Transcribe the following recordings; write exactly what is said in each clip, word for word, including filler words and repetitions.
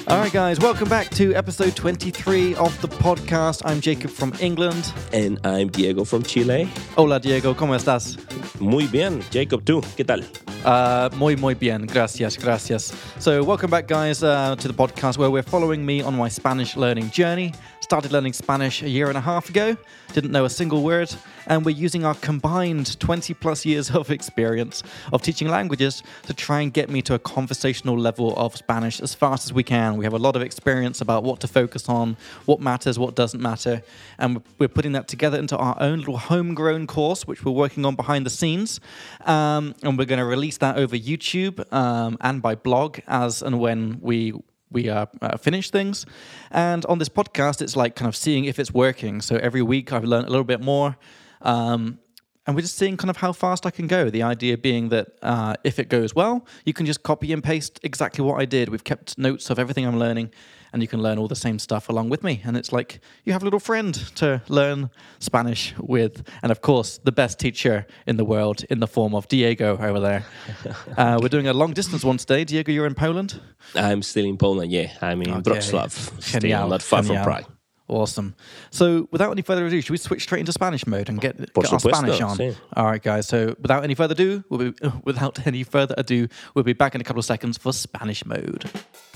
All right, guys, welcome back to episode twenty-three of the podcast. I'm Jacob from England. And I'm Diego from Chile. Hola, Diego, ¿cómo estás? Muy bien, Jacob, ¿tú? ¿Qué tal? Uh, muy, muy bien. Gracias, gracias. So, welcome back, guys, uh, to the podcast where we're following me on my Spanish learning journey. Started learning Spanish a year and a half ago. Didn't know a single word. And we're using our combined twenty plus years of experience of teaching languages to try and get me to a conversational level of Spanish as fast as we can. We have a lot of experience about what to focus on, what matters, what doesn't matter. And we're putting that together into our own little homegrown course, which we're working on behind the scenes. Um, and we're going to release that over YouTube um, and by blog as and when we we uh, uh, finish things. And on this podcast, it's like kind of seeing if it's working. So every week I've learned a little bit more. Um, and we're just seeing kind of how fast I can go. The idea being that uh, if it goes well, you can just copy and paste exactly what I did. We've kept notes of everything I'm learning, and you can learn all the same stuff along with me. And it's like you have a little friend to learn Spanish with. And of course, the best teacher in the world in the form of Diego over there. Uh, we're doing a long distance one today. Diego, you're in Poland? I'm still in Poland, yeah. I'm in Okay. Wrocław, still Genial, not far genial. from Prague. Awesome. So without any further ado, should we switch straight into Spanish mode and get, Por get our supuesto, Spanish on? sí. All right, guys. So without any further ado, we'll be, without any further ado, we'll be back in a couple of seconds for Spanish mode.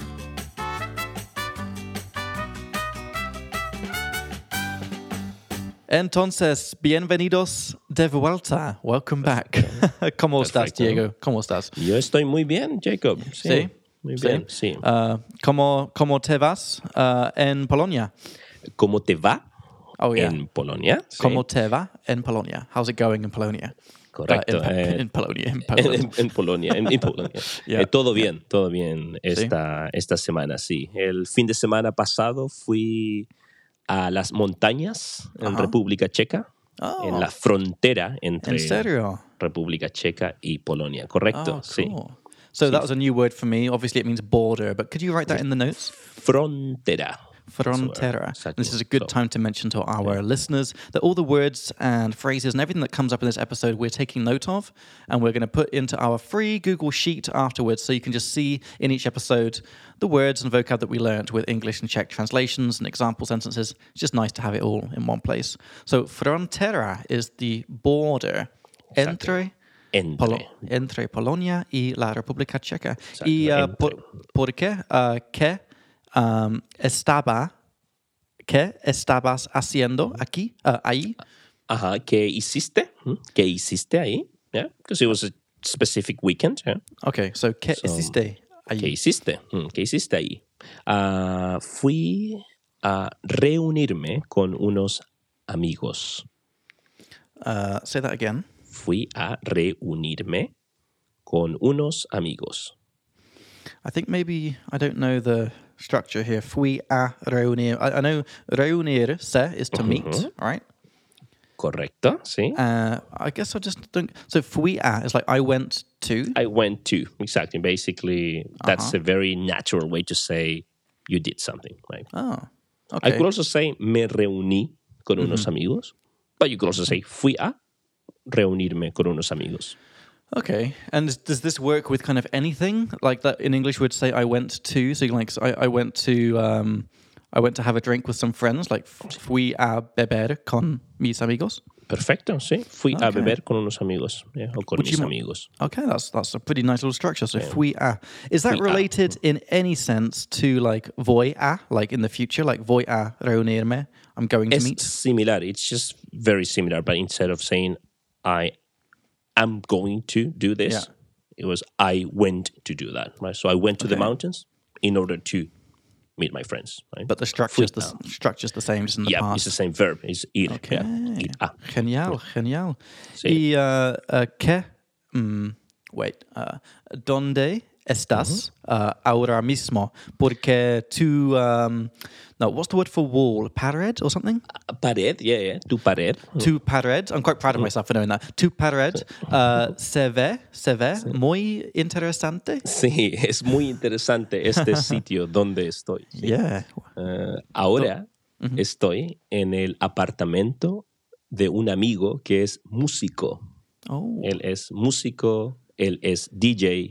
Entonces, bienvenidos de vuelta. Welcome back. ¿Cómo estás, Perfecto. Diego? ¿Cómo estás? Yo estoy muy bien, Jacob. Sí. Sí. Muy Sí. bien, sí. Uh, ¿cómo, ¿Cómo te vas uh, en Polonia? ¿Cómo te va Oh, yeah. en Polonia? Sí. ¿Cómo te va en Polonia? How's it going in Polonia? Correcto. Uh, in, eh, in Polonia. In en, Poland. en- en Polonia, en, en Polonia. Yeah. Eh, todo bien, todo bien esta, esta semana, sí. El fin de semana pasado fui a las montañas en Ajá. República Checa, Oh. en la frontera entre ¿En serio? República Checa y Polonia. Correcto, Oh, sí. cool. So that was a new word for me. Obviously, it means border, but could you write that in the notes? Frontera. Frontera. Exactly. This is a good So- time to mention to our listeners that all the words and phrases and everything that comes up in this episode, we're taking note of, and we're going to put into our free Google Sheet afterwards, so you can just see in each episode the words and vocab that we learned with English and Czech translations and example sentences. It's just nice to have it all in one place. So frontera is the border entre Entre. Polo- entre Polonia y la República Checa. Exacto, ¿Y uh, entre. por, por qué? Uh, ¿Qué um, estaba, qué estabas haciendo aquí, uh, ahí? Ajá, ¿qué hiciste? ¿Mm? ¿Qué hiciste ahí? Yeah, because it was a specific weekend. Yeah. Okay, so ¿qué So, hiciste ahí? ¿Qué hiciste? Mm, ¿Qué hiciste ahí? Ah, fui a reunirme con unos amigos. Uh, say that again. Fui a reunirme con unos amigos. I think maybe, I don't know the structure here. Fui a reunir. I, I know reunirse is to meet, Mhm. right? Correcto, sí. Uh, I guess I just don't... So fui a is like I went to. I went to, exactly. Basically, that's Uh-huh. a very natural way to say you did something, right? Oh, I okay. could also say me reuní con unos amigos, but you could also say fui a reunirme con unos amigos. Okay, and does this work with kind of anything like that? In English, we'd say I went to. So, like, so I, I went to, um, I went to have a drink with some friends. Like, fui a beber con mis amigos. Perfecto, sí. Fui a Okay. beber con unos amigos, yeah, o con Would mis you mo- amigos. Okay, that's that's a pretty nice little structure. So, fui a. Is that Fui a. related in any sense to like voy a, like in the future, like voy a reunirme? I'm going to Es meet. similar. It's just very similar, but instead of saying I am going to do this, Yeah. it was I went to do that, right? So I went to the Okay. mountains in order to meet my friends, right? But the structure's the Fui a. s- structure's the same, just in the Yeah, past. it's the same verb. It's ir. Okay. Yeah. Ir a. Genial, genial. Sí. Y uh, uh, ¿qué? Mm, wait. Uh, ¿Dónde estás uh, ahora mismo? Porque tu... Um, no, what's the word for wall? Pared or something? Pared, yeah, yeah. Tu pared. Tu pared. I'm quite proud of myself for knowing that. Tu pared uh, se ve, se ve muy interesante. Sí, es muy interesante este sitio donde estoy. Sí. Yeah. Eh, ahora estoy en el apartamento de un amigo que es músico. Oh. Él es músico, él es D J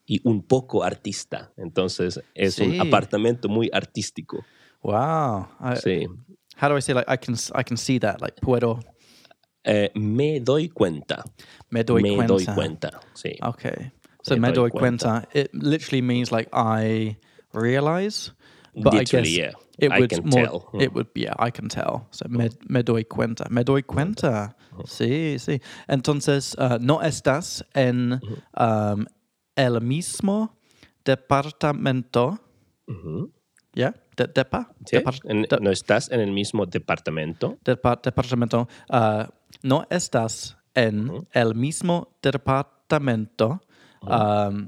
y un poco artista. Entonces es Sí. un apartamento muy artístico. Wow. I, Sí. How do I say, like, I can, I can see that, like, puedo... Eh, me doy cuenta. Me doy me cuenta. doy cuenta. Sí. Okay. So Me me doy doy cuenta. It literally means like I realize, but Literally, I guess yeah. it I would can more. tell. It would be. Yeah, I can tell. So me, me doy cuenta. Me doy cuenta. Sí, sí. Entonces, uh, no estás en um, el mismo departamento. Ujú. Yeah, de, depa. ¿Sí? Depart- En- de- ¿No estás en el mismo departamento? depa- departamento. Uh, no estás en Ujú. el mismo departamento. Um,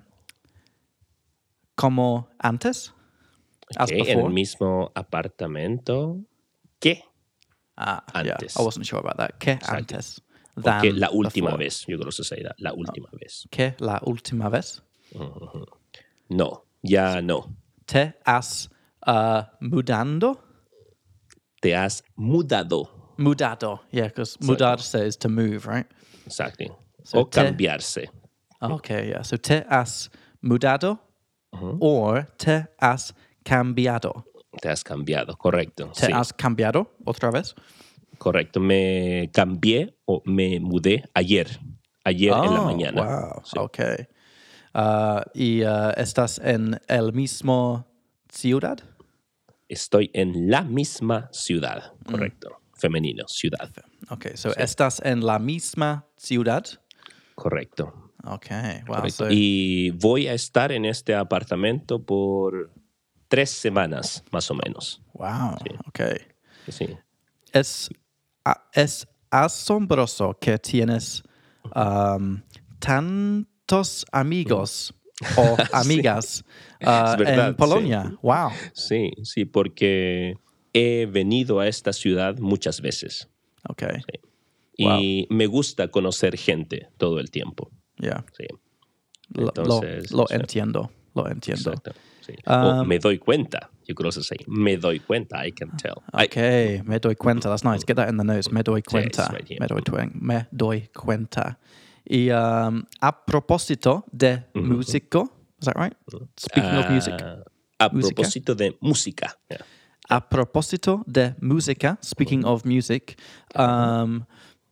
como antes, as Ok, en before. el mismo apartamento que Ah, antes. yeah, I wasn't sure about that. Que Exacto. antes. O que Than la última before. vez. Yo creo que se dirá la última vez. Que la última vez. Ujú. No, ya no. Te has uh, mudando. Te has mudado. Mudado. Yeah, because mudarse is to move, right? Exacto. So o te- cambiarse. Okay, yeah. So te has mudado or te has cambiado. Te has cambiado, correcto. Te sí, has cambiado otra vez. correcto. Me cambié o me mudé ayer. Ayer en la Oh, mañana. Wow. Sí. Okay. Uh, y uh, estás en el mismo ciudad. Estoy en la misma ciudad. Mm. Correcto. Femenino, ciudad. Okay, so estás en la misma ciudad. Correcto. Okay, wow. correcto. So Y voy a estar en este apartamento por tres semanas, más o menos. wow. Okay. Sí. Es a- es asombroso que tienes um, tantos amigos o amigas uh, Es verdad, en Polonia. sí. Wow. Sí, sí, porque he venido a esta ciudad muchas veces. Okay. Y me gusta conocer gente todo el tiempo. Yeah. Sí. Lo- Entonces, lo, lo sí. entiendo. Lo entiendo. Exacto. Sí. Um, o me doy cuenta. Yo creo que es así. Me doy cuenta. I can tell. I- Okay, me doy cuenta. That's nice. Get that in the notes. Me doy cuenta. right here. me, doy tuen- me doy cuenta. Y um, a propósito de músico, is that right? Speaking of music. Ah, a Música. propósito de música. Yeah. A propósito de música, speaking of music, um,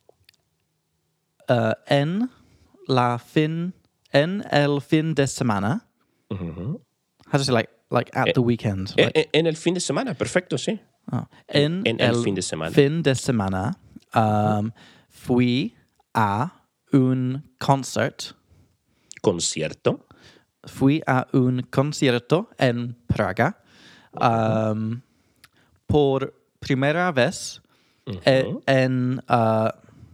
uh, en la fin, en el fin de semana, Ujú. how to say, like, like at the weekend, Eh, like, eh, en el fin de semana, perfecto, sí. oh, en, en el fin de semana. fin de semana, um, fui a un concert, Concierto. fui a un concierto en Praga, um, por primera vez eh, en uh,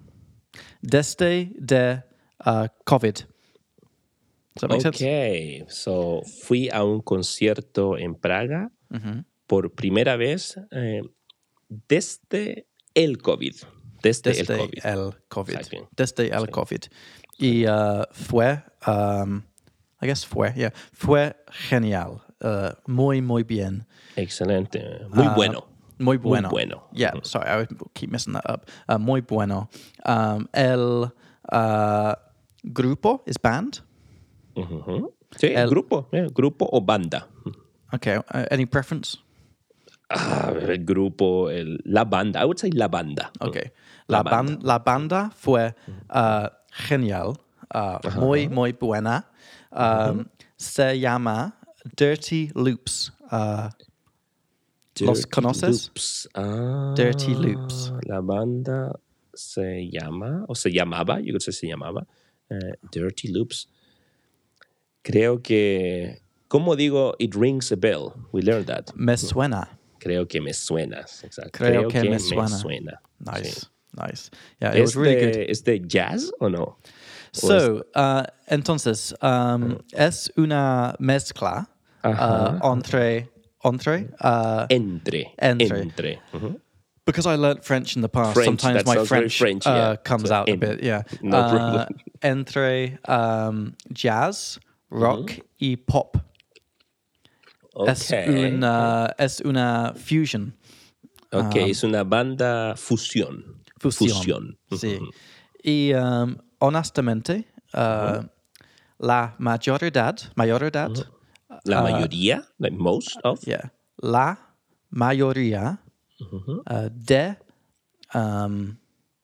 desde de uh, COVID. Does that make sense? Ok, so fui a un concierto en Praga por primera vez eh, desde el COVID. Desde, Desde el COVID. el COVID. Exacto. Desde el COVID. Y uh, fue, um, I guess fue, yeah, fue genial. Uh, muy, muy bien. Excelente. Muy Uh, bueno. Muy bueno. Muy bueno. Yeah, sorry, I would keep messing that up. Uh, muy bueno. Um, el uh, grupo is band. Ujú. Sí, El- grupo. eh, grupo o banda. Okay, uh, any preference? Ah, el grupo, el- la banda. I would say la banda. Okay. La La, ban- banda. la banda fue uh, genial, uh, muy, muy buena. Um, Se llama Dirty Loops. Uh, ¿Los Dirty conoces? Loops. Ah, Dirty Loops. La banda se llama, o se llamaba, yo creo que se llamaba, eh, Dirty Loops. Creo que, ¿cómo digo? It rings a bell. We learned that. Me suena. Creo que me suena. Exacto. Creo que me suena. Sí. Nice, nice. Yeah, it was ¿Es, really de, good. ¿Es de jazz o no? So, uh, entonces, um, es una mezcla Ajá. uh, entre, entre, uh, Entre. Entre. Entre. Ujú. because I learnt French in the past. French, sometimes that my sounds very French, French, uh, yeah. comes So, out a en- bit. Yeah, no uh, problem. Entre um, jazz, rock y pop. Es Ok. una es una fusion. Ok, es una banda fusión. Fusión. Fusión. Sí. Y um, honestamente, uh, la mayoridad, mayoridad, Mm-hmm. La mayoría, like most of. yeah, la mayoría Mm-hmm. uh, de, um,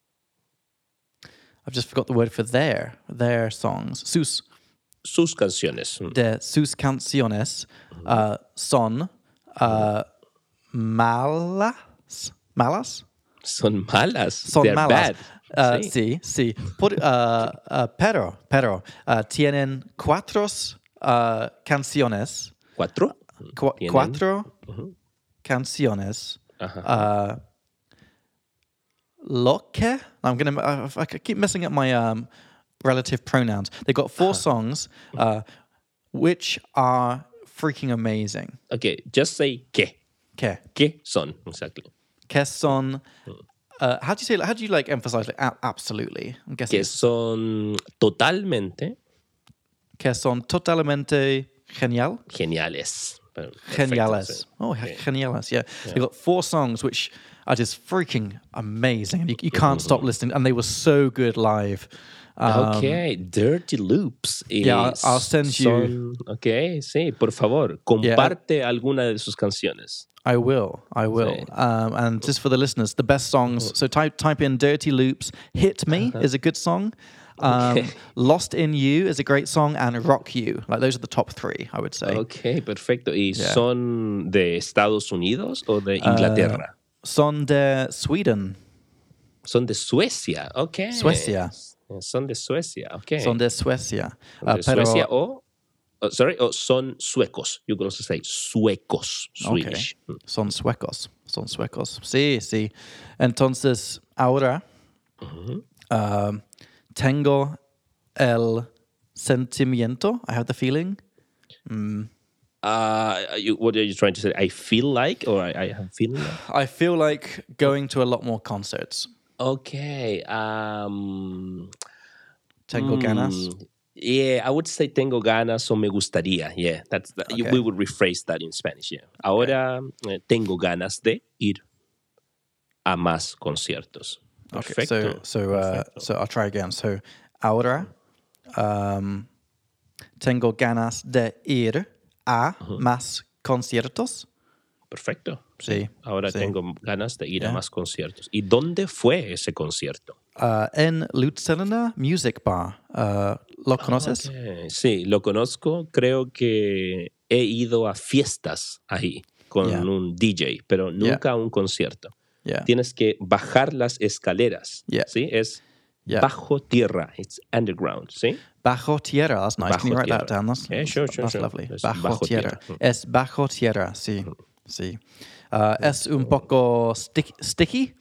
I've just forgot the word for their, their songs, sus, Sus canciones. Mm. de sus canciones uh, son uh, malas, malas, Son malas. son They're malas. bad. Uh, Sí. sí, sí. Por, uh, uh, pero, pero, uh, tienen cuatro uh, canciones, ¿Cuatro? cu- Tienen. cuatro Ujú. canciones. Ajá. Uh, lo que, I'm gonna, I, I keep messing up my um, relative pronouns. They've got four songs, uh, which are freaking amazing. Okay, just say que. Que, ¿Qué son? Exactly. que son. Uh, how do you say? How do you like emphasize? Like a- absolutely. I'm guessing. Que it's- son totalmente Que son totalmente genial. geniales. Perfecto, Geniales. sí. Oh, Yeah. geniales. Yeah. They've got four songs which are just freaking amazing. You, you can't stop listening. And they were so good live. Um, Okay, Dirty Loops. Y Yeah, I'll- I'll send you- son- Ok, sí, por favor, comparte alguna de sus canciones. I will. I will. Sí. Um, and just for the listeners, the best songs. So type type in "Dirty Loops." "Hit Me" is a good song. Um, Okay. "Lost in You" is a great song, and "Rock You." Like those are the top three, I would say. Ok, perfecto. ¿Y Yeah. son de Estados Unidos o de Inglaterra? Son de Sweden. Son de Suecia, ok. Suecia. Son de Suecia, ok. Son de Suecia. Son Uh, de pero- Suecia o, oh, sorry, o son suecos. You could also say suecos, Okay. Swedish. Mm. Son suecos. Son suecos. Sí, sí. Entonces, ahora um, tengo el sentimiento. I have the feeling. Uh, you, what are you trying to say? I feel like, or I, I have feeling like? I feel like going to a lot more concerts. Okay. Um, Tengo ganas. mm, Yeah, I would say tengo ganas o me gustaría. Yeah, that's that, you- Okay. we would rephrase that in Spanish. Yeah. Ahora eh, tengo ganas de ir a más conciertos. Okay, Perfecto. so so uh, so I'll try again. So ahora um, tengo ganas de ir a más conciertos. Perfecto. Sí. Ahora sí. tengo ganas de ir a Yeah. más conciertos. ¿Y dónde fue ese concierto? Uh, en Luzerner Music Bar. Uh, ¿Lo conoces? Ok, sí, lo conozco. Creo que he ido a fiestas ahí con Yeah. un D J, pero nunca a un concierto. Yeah. Tienes que bajar las escaleras. Yeah. ¿Sí? Es Yeah. bajo tierra. It's underground. ¿Sí? Bajo tierra. That's nice. Can you Bajo write that tierra. down? That's, Yeah, sure, sure, that's sure. lovely. Es Bajo, bajo tierra. tierra. Es bajo tierra. Sí. Sí. Uh, es un poco stick- sticky.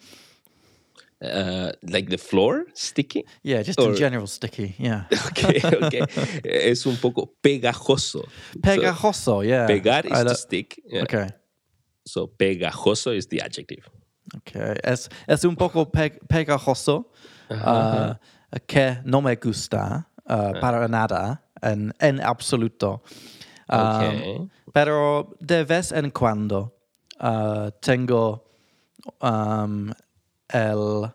Uh, like the floor, sticky. Yeah, just in Or- general sticky. Yeah. Ok, ok. Es un poco pegajoso. Pegajoso. Yeah. So, pegar is I to lo- stick. Yeah. Okay. So pegajoso is the adjective. Okay. Es, es un poco pe- pegajoso uh, que no me gusta uh, para nada en, en absoluto. Um, Okay. Pero de vez en cuando uh, tengo um, el...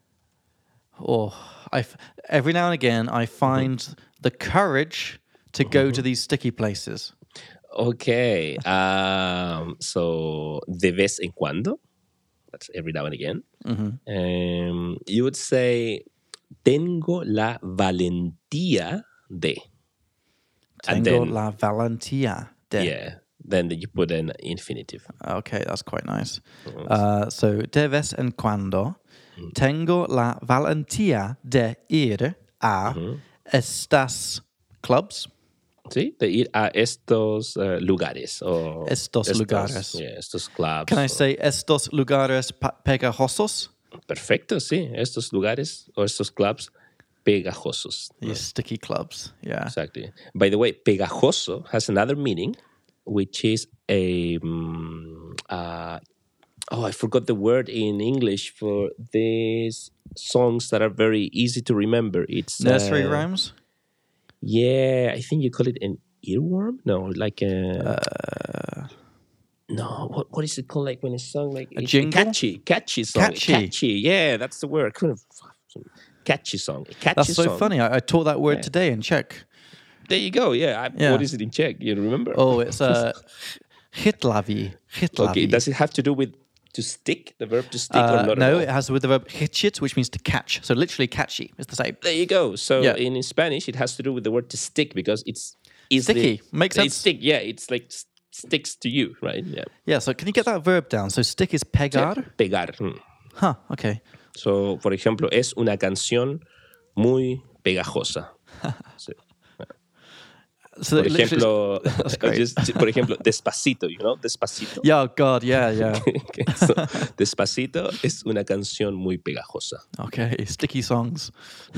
Oh, I f- every now and again I find the courage to go to these sticky places. Okay. Um, so de vez en cuando. That's every now and again. Um, you would say tengo la valentía de. And Tengo then- la valentía de. Yeah. Then you put an infinitive. Okay, that's quite nice. Uh, so, de vez en cuando tengo la valentía de ir a estas clubs. ¿Sí? De ir a estos uh, lugares. O Estos lugares. Yeah, estos clubs. Can I o- say estos lugares pa- pegajosos? Perfecto, sí. Estos lugares o estos clubs pegajosos. These sticky clubs. Yeah. Exactly. By the way, pegajoso has another meaning, which is a. Um, uh, oh, I forgot the word in English for these songs that are very easy to remember. It's Nursery uh, rhymes? Yeah, I think you call it an earworm. No, like a. no, what what is it called? Like when a song like A it's jingle? catchy, catchy song, Catchy. catchy. Yeah, that's the word. I couldn't. Catchy song, a catchy That's so song. funny. I, I taught that word Yeah. today in Czech. There you go. Yeah. I, Yeah. What is it in Czech? You remember? Oh, it's uh, chytlaví. Chytlaví. Okay. Does it have to do with to stick, the verb to stick, Uh, or not at no, all? it has with the verb chytit, which means to catch. So literally catchy is the same. There you go. So Yeah. in Spanish, it has to do with the word to stick because it's easily, Sticky. Makes sense. It's stick. Yeah. It's like s- sticks to you, right? Yeah. Yeah, so can you get that verb down? So stick is pegar. Pegar. Mm. Huh, okay. So, por ejemplo, es una canción muy pegajosa. Sí. So Por literally- ejemplo, That's great. just- por ejemplo, Despacito, you know, Despacito. Yeah, oh God, yeah, yeah. Okay, so, Despacito es una canción muy pegajosa. Okay, sticky songs.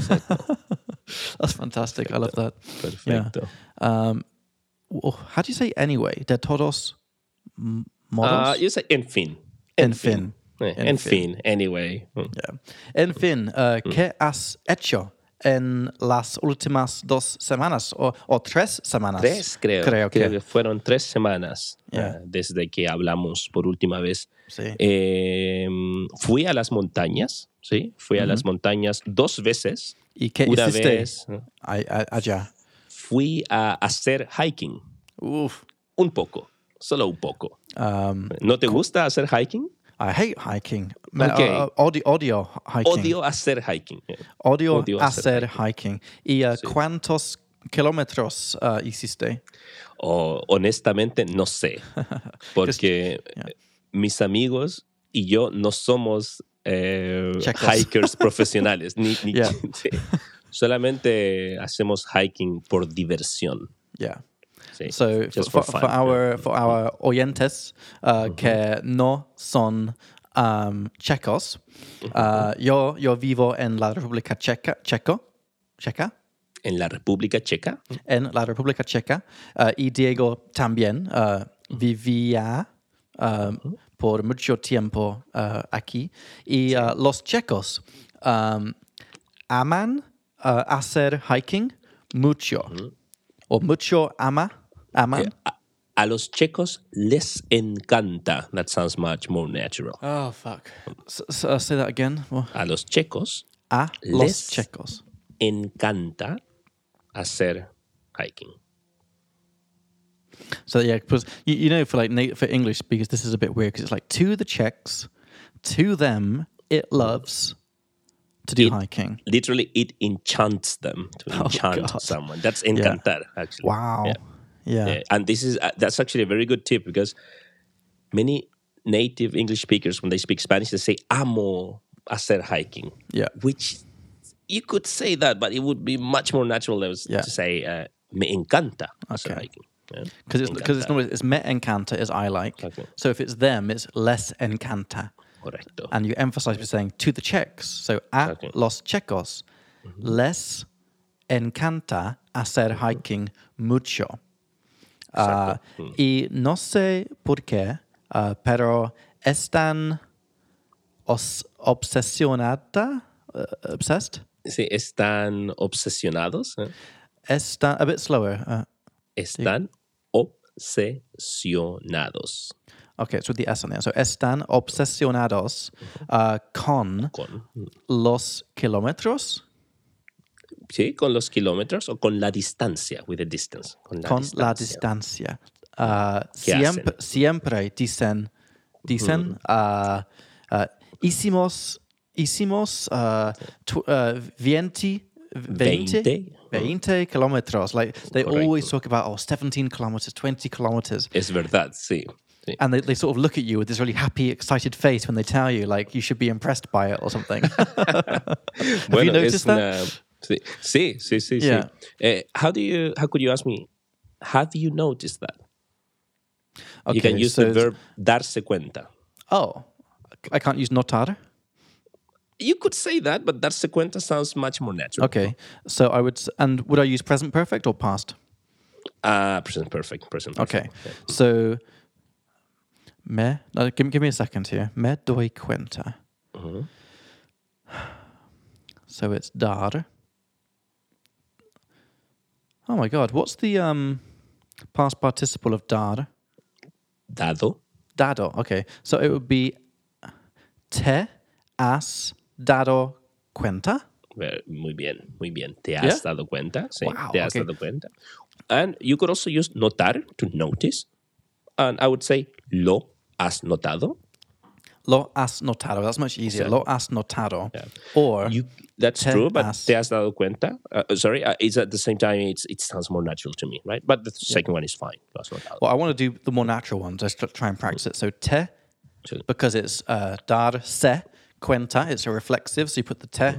That's fantastic. I love that. Perfecto. Um, oh, how do you say anyway? De todos m- modos? Uh, you say en fin. En fin. Eh, En en fin. fin, anyway. Mm. Yeah. En fin, uh, ¿qué has hecho en las últimas dos semanas o, o tres semanas? Tres, creo. Creo que. que fueron tres semanas Yeah. uh, desde que hablamos por última vez. Sí. Eh, fui a las montañas, ¿sí? Fui a las montañas dos veces. ¿Y qué Una hiciste vez ¿no? Ay- a- allá? fui a hacer hiking. Uf. Un poco, solo un poco. Um, ¿No te gusta hacer hiking? I hate hiking. Me- Okay. uh, odio, odio hiking. Odio hacer hiking. Odio odio hacer, hacer hiking. ¿Y uh, cuántos kilómetros uh, hiciste? O, honestamente, no sé. Porque yeah. mis amigos y yo no somos eh, Checos. hikers profesionales. Ni, ni- Yeah. sí. Solamente hacemos hiking por diversión. Yeah. Sí. So Just for, for for, fun. our for our oyentes uh, que no son um, checos, uh, yo yo vivo en la República Checa, Checo, Checa, En la República Checa. en la República Checa, uh, y Diego también uh, vivía um, por mucho tiempo uh, aquí. Y uh, los checos um, aman uh, hacer hiking mucho. O mucho ama, aman. A, a los checos les encanta. That sounds much more natural. Oh, fuck. S- s- uh, say that again. Oh. A los checos A Les- los checos. encanta hacer hiking. So yeah, because you, you know, for like na- for English speakers, this is a bit weird because it's like to the Czechs, to them, it loves to do It- hiking. Literally, it enchants them to Oh, enchant God. someone. That's encantar, actually. Wow. Yeah. Yeah. Yeah, and this is uh, that's actually a very good tip because many native English speakers, when they speak Spanish, they say "amo hacer hiking," Yeah. which you could say that, but it would be much more natural to Yeah. say uh, "me encanta hacer Okay. hiking." Yeah? Because it's because it's Encantar. not it's me encanta is I like. Okay. So if it's them, it's les encanta, Correcto. and you emphasize by saying to the Czechs. So a Okay. los checos, les encanta hacer hiking mucho. Uh, y no sé por qué, uh, pero están os obsesionada, uh, obsessed. Sí, están obsesionados. ¿eh? Están a bit slower. Uh, Están obsesionados okay, it's with the S on there. So están obsesionados uh, con con, los kilómetros, sí, con los kilómetros o con la distancia, with the distance. Con la con distancia. la distancia. Uh, ¿Qué siempre, siempre dicen, dicen, uh, uh, hicimos, hicimos uh, tw- uh, veinte, veinte, Veinte. veinte kilómetros. Like they Correcto. always talk about, oh, seventeen kilometers, twenty kilometers. Es verdad, sí. sí. And they, they sort of look at you with this really happy, excited face when they tell you, like, you should be impressed by it or something. Have Bueno, you noticed es that? una- sí, sí, sí, sí. Yeah. sí. Eh, how do you? How could you ask me? Have you noticed that? You can Okay, use so the it's- verb darse cuenta. Oh, I can't use notar. You could say that, but darse cuenta sounds much more natural. Okay, so I would, s- and would I use present perfect or past? Ah, present perfect. Present perfect. Okay, so me, no, give, give me a second here. Me doy cuenta. Mhm. So it's dar. Oh my God, what's the um past participle of dar? Dado. Dado. Okay, so it would be te has dado cuenta. Very- Muy bien, muy bien. ¿Te has Yeah? dado cuenta? Sí, Wow, te has okay. dado cuenta. And you could also use notar to notice. And I would say lo has notado. Lo has notado. That's much easier. So, Lo has notado. yeah. Or You, that's te true, but has- te has dado cuenta. Uh, sorry, uh, it's at the same time, it's, it sounds more natural to me, right? But the second one is fine. Lo has notado. well, I want to do the more natural ones. Let's tr- try and practice it. So te, Sí. because it's uh, dar se cuenta. It's a reflexive, so you put the te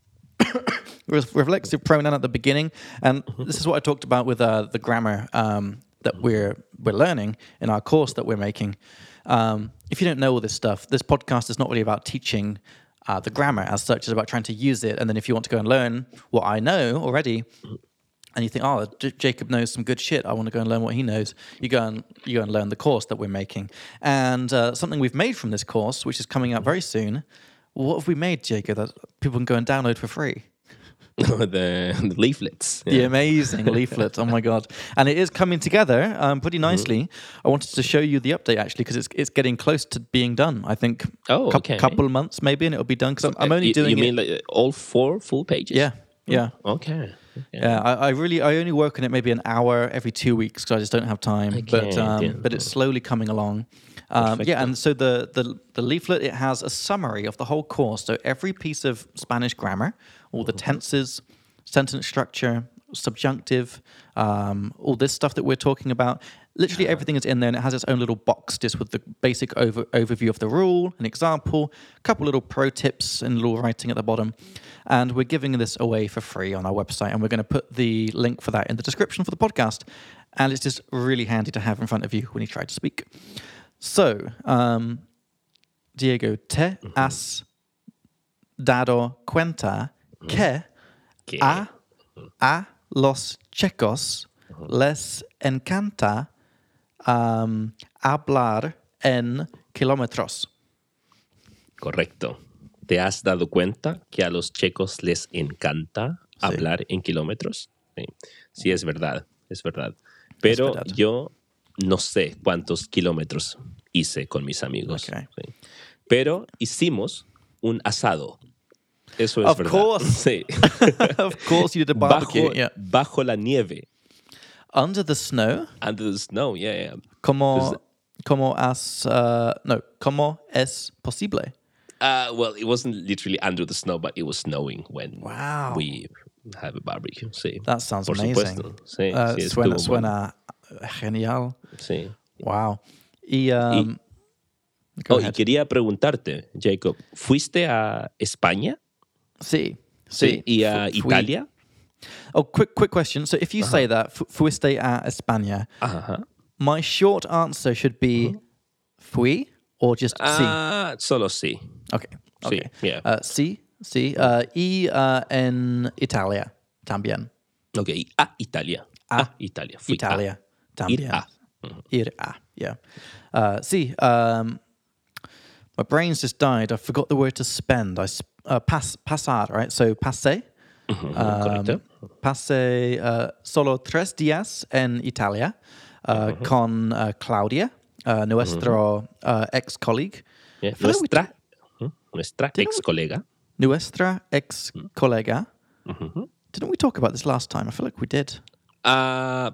re- reflexive pronoun at the beginning. And this is what I talked about with uh, the grammar um, that we're we're learning in our course that we're making. Um, if you don't know all this stuff, this podcast is not really about teaching uh, the grammar as such. It's about trying to use it. And then if you want to go and learn what I know already, and you think, oh, J- Jacob knows some good shit, I want to go and learn what he knows, you go and you go and learn the course that we're making. And uh, something we've made from this course, which is coming out very soon, what have we made, Jacob, that people can go and download for free? the, the leaflets. The amazing leaflet. Oh my god! And it is coming together um, pretty nicely. Mm-hmm. I wanted to show you the update actually because it's it's getting close to being done. I think. Oh, cou- okay. Couple of months maybe, and it'll be done. Because I'm, I'm only you, doing You mean it. like all four full pages? Yeah, yeah, Okay. yeah. I, I really I only work on it maybe an hour every two weeks because I just don't have time. Okay, but um, yeah. but it's slowly coming along. Um, yeah, and so the, the the leaflet, it has a summary of the whole course. So every piece of Spanish grammar, all the tenses, sentence structure, subjunctive, um, all this stuff that we're talking about. Literally everything is in there, and it has its own little box just with the basic over, overview of the rule, an example, a couple little pro tips and little writing at the bottom. And we're giving this away for free on our website, and we're going to put the link for that in the description for the podcast. And it's just really handy to have in front of you when you try to speak. So, um, Diego, te has dado cuenta que Que- a, a los chicos les encanta um, hablar en kilómetros. Correcto. ¿Te has dado cuenta que a los checos les encanta Sí. hablar en kilómetros? Sí. Sí, es verdad, es verdad. Pero verdad. yo no sé cuántos kilómetros hice con mis amigos. Okay. Sí. Pero hicimos un asado. Eso es Of verdad. course. Sí. Of course you did a barbecue. Bajo, Yeah. bajo la nieve. Under the snow, Under the snow, yeah, yeah. como, como has, uh, no, como es posible? Uh, well, it wasn't literally under the snow, but it was snowing when Wow. we have a barbecue. Sí. That sounds Por amazing. supuesto. Sí, Uh, sí, suena, estuvo bueno. suena genial. Sí. Wow. Y, um, go Oh, y ahead. quería preguntarte, Jacob, ¿fuiste a España? Sí. Sí. ¿Y a Fu- fui- Italia? Oh, quick, quick question. So if you say that, fu- fuiste a España, Ajá. my short answer should be fui or just sí. Ah, solo sí. Okay. Sí, Okay. yeah. Uh, sí, sí. Uh, y uh, en Italia también. Ok, y a Italia. A A Italia. Fui Italia a. también. Ir a. Ir a, yeah. Uh, sí. Um, my brain's just died. I forgot the word to spend. I sp- uh, pas pasar, right? So pasé. Ujú, Um, correcto. pasé uh, solo tres días en Italia uh, con uh, Claudia, uh, nuestro uh, ex colleague, Yeah, feel like we Nuestra, ujú, nuestra Didn't ex colega. nuestra ex colega. Didn't we talk about this last time? I feel like we did. Ah,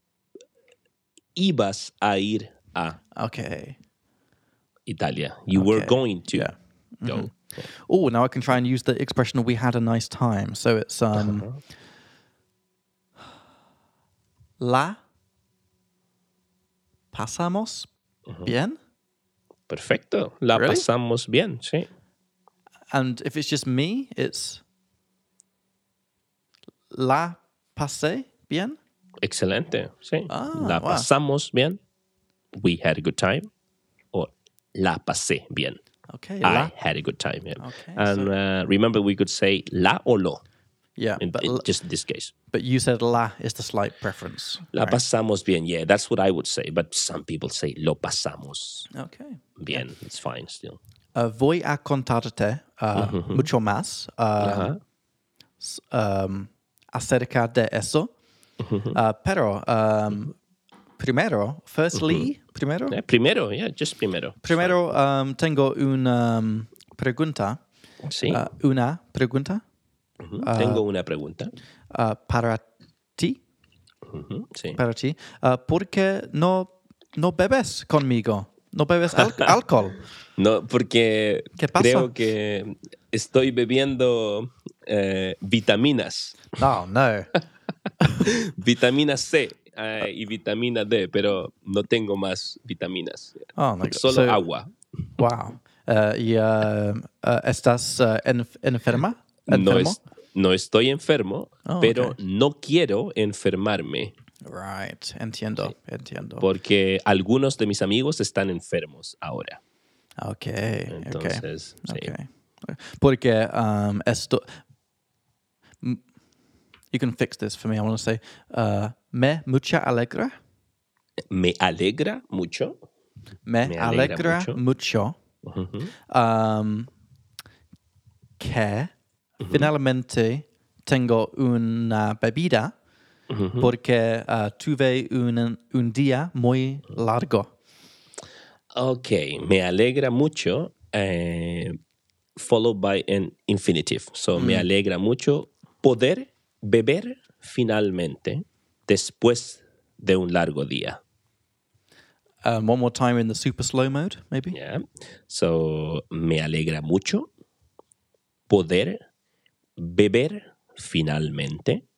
ibas a ir a Okay. Italia. You were Okay, going to yeah. go. Oh, now I can try and use the expression "we had a nice time." So it's um, la pasamos bien, Perfecto. La Really? pasamos bien, sí. and if it's just me, it's la pasé bien. Excelente, sí. Ah, la wow. pasamos bien. We had a good time. Or la pasé bien. Okay, I la, had a good time. Yeah. Okay, and uh, remember, we could say la o lo yeah, in, but in l- just this case. but you said la is the slight preference. La right? pasamos bien. Yeah, that's what I would say. But some people say lo pasamos Okay. bien. It's fine still. Uh, voy a contarte uh, mucho más uh, Ajá. s- um, acerca de eso. Uh, pero um, primero, firstly, primero, Yeah, primero, yeah, just primero. primero um, tengo una um, pregunta. Sí. Uh, una pregunta. Ujú. Tengo una pregunta. Uh, para ti, Ujú, sí. para ti, uh, ¿por qué no, no bebes conmigo? ¿No bebes al- alcohol? No, porque ¿Qué pasa? creo que estoy bebiendo eh, vitaminas. Oh, no. Vitamina C eh, y vitamina D, pero no tengo más vitaminas. Oh, my God. Solo So- agua. Wow. Uh, y uh, uh, ¿estás uh, enf- enferma? No, ¿Enfermo? es, no estoy enfermo, Oh, pero okay. no quiero enfermarme Right. Entiendo. Sí. Entiendo. porque algunos de mis amigos están enfermos ahora. Okay. Entonces, sí. okay. Okay. Porque um, esto. m- You can fix this for me. I want to say, uh, me mucha alegra. Me alegra mucho. Me, Me alegra alegra, mucho. mucho, Ujú. um, que finalmente tengo una bebida Ujú. porque uh, tuve un, un día muy largo. Ok, me alegra mucho, eh, followed by an infinitive. So, me alegra mucho poder beber finalmente después de un largo día. Um, one more time in the super slow mode, maybe. Yeah. So, me alegra mucho poder beber finalmente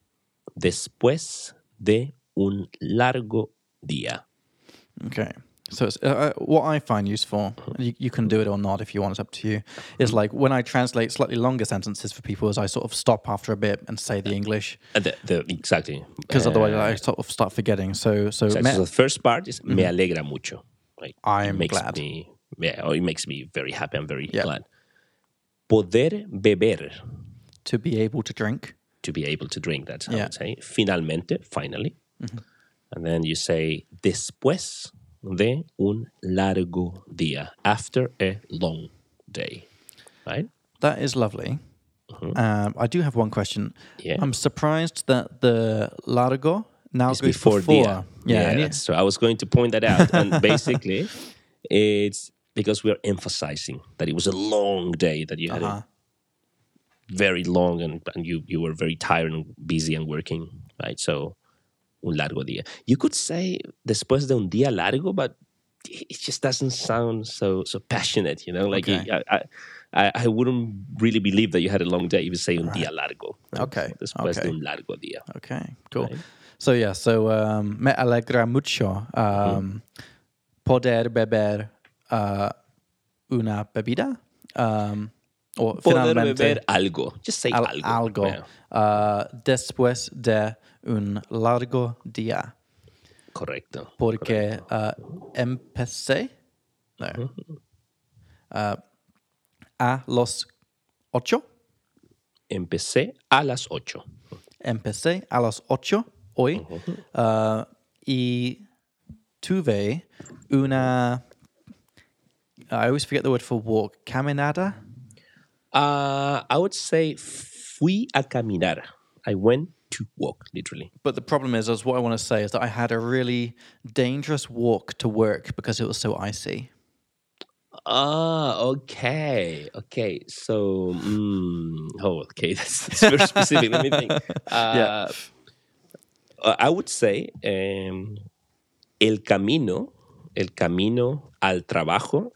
después de un largo día. Okay. So it's, uh, uh, what I find useful, and you, you can do it or not if you want, it's up to you, is like when I translate slightly longer sentences for people, is I sort of stop after a bit and say the English, Uh, the, the, exactly. because Uh, otherwise I sort of start forgetting. So, so, exactly. me- So the first part is me alegra mucho. Right? I'm it makes glad. Me, yeah, or it makes me very happy. I'm very Yeah. glad. Poder beber, to be able to drink. to be able to drink. That's how I Yeah. would say. Finalmente, finally. And then you say después de un largo día, after a long day. Right? That is lovely. Um, I do have one question. Yeah. I'm surprised that the largo now It's goes before, before. dia. Yeah, Yeah, and you- that's true. I was going to point that out. And basically, it's because we're emphasizing that it was a long day, that you had Uh-huh. a very long and, and you, you were very tired and busy and working, right? So, un largo día. You could say después de un día largo, but it just doesn't sound so so passionate, you know? Like, Okay. I, I, I wouldn't really believe that you had a long day if you say un día largo. Right? Okay, Después okay. de un largo día. Okay, cool. Right. So yeah, so um, me alegra mucho um, poder beber uh, una bebida. Um, o Poder finalmente beber algo. Just say al- algo. algo Yeah. uh, después de un largo día. Correcto. Porque uh, empecé no, uh, a los ocho. Empecé a las ocho. Empecé a las ocho hoy uh, y tuve una. I always forget the word for walk. Caminada. Uh, I would say fui a caminar. I went to walk, literally. But the problem is, is what I want to say is that I had a really dangerous walk to work because it was so icy. Ah, okay, okay. So, mm, oh, okay, that's, that's very specific. Let me think. Uh, Yeah. I would say um, el camino, el camino al trabajo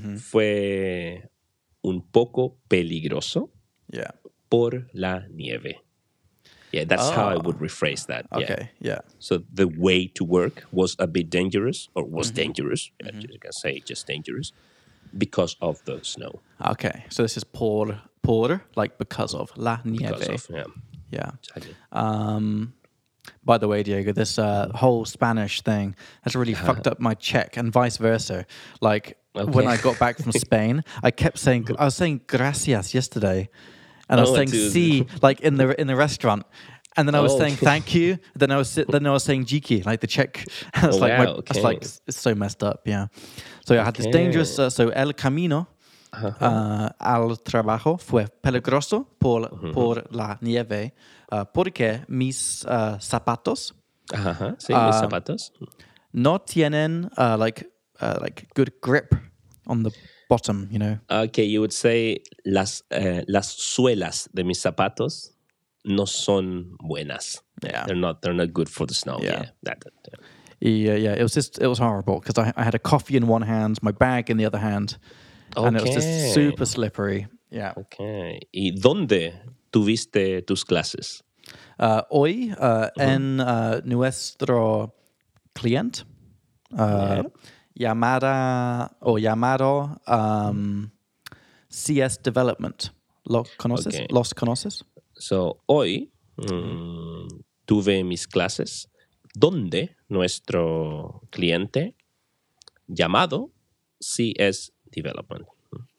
fue un poco peligroso Yeah. por la nieve. Yeah, that's how I Oh. would rephrase that. Yeah. Okay. Yeah. So the way to work was a bit dangerous, or was dangerous. Yeah, you can say just dangerous because of the snow. Okay. So this is por por like because of la nieve. Because of yeah, Yeah. exactly. Um, by the way, Diego, this uh, whole Spanish thing has really fucked up my Czech and vice versa. Like when Okay. I got back from Spain, I kept saying I was saying gracias yesterday, and I was Oh, saying dude. si like in the in the restaurant. And then I was Oh. saying thank you. Then I was then I was saying jiki, like the Czech. I was Oh, like, my, wow, I was like, okay. it's so messed up. Yeah. So yeah, I had this Okay. dangerous. Uh, so el camino uh, al trabajo fue peligroso por por la nieve, uh, porque mis uh, zapatos Ajá, sí, mis zapatos. no tienen uh, like uh, like good grip on the bottom, you know. Okay, you would say las, uh, las suelas de mis zapatos no son buenas. Yeah. They're not They're not good for the snow. Yeah. Yeah. That, that, yeah. Yeah, yeah. It was just, it was horrible because I, I had a coffee in one hand, my bag in the other hand, Okay. and it was just super slippery. Yeah. Okay. ¿Y dónde tuviste tus clases? Uh, hoy, uh, en uh, nuestro cliente, uh, llamada o llamado um, C S Development. ¿Lo conoces? Okay. ¿Los conoces? So, hoy mm, tuve mis clases donde nuestro cliente llamado C S Development.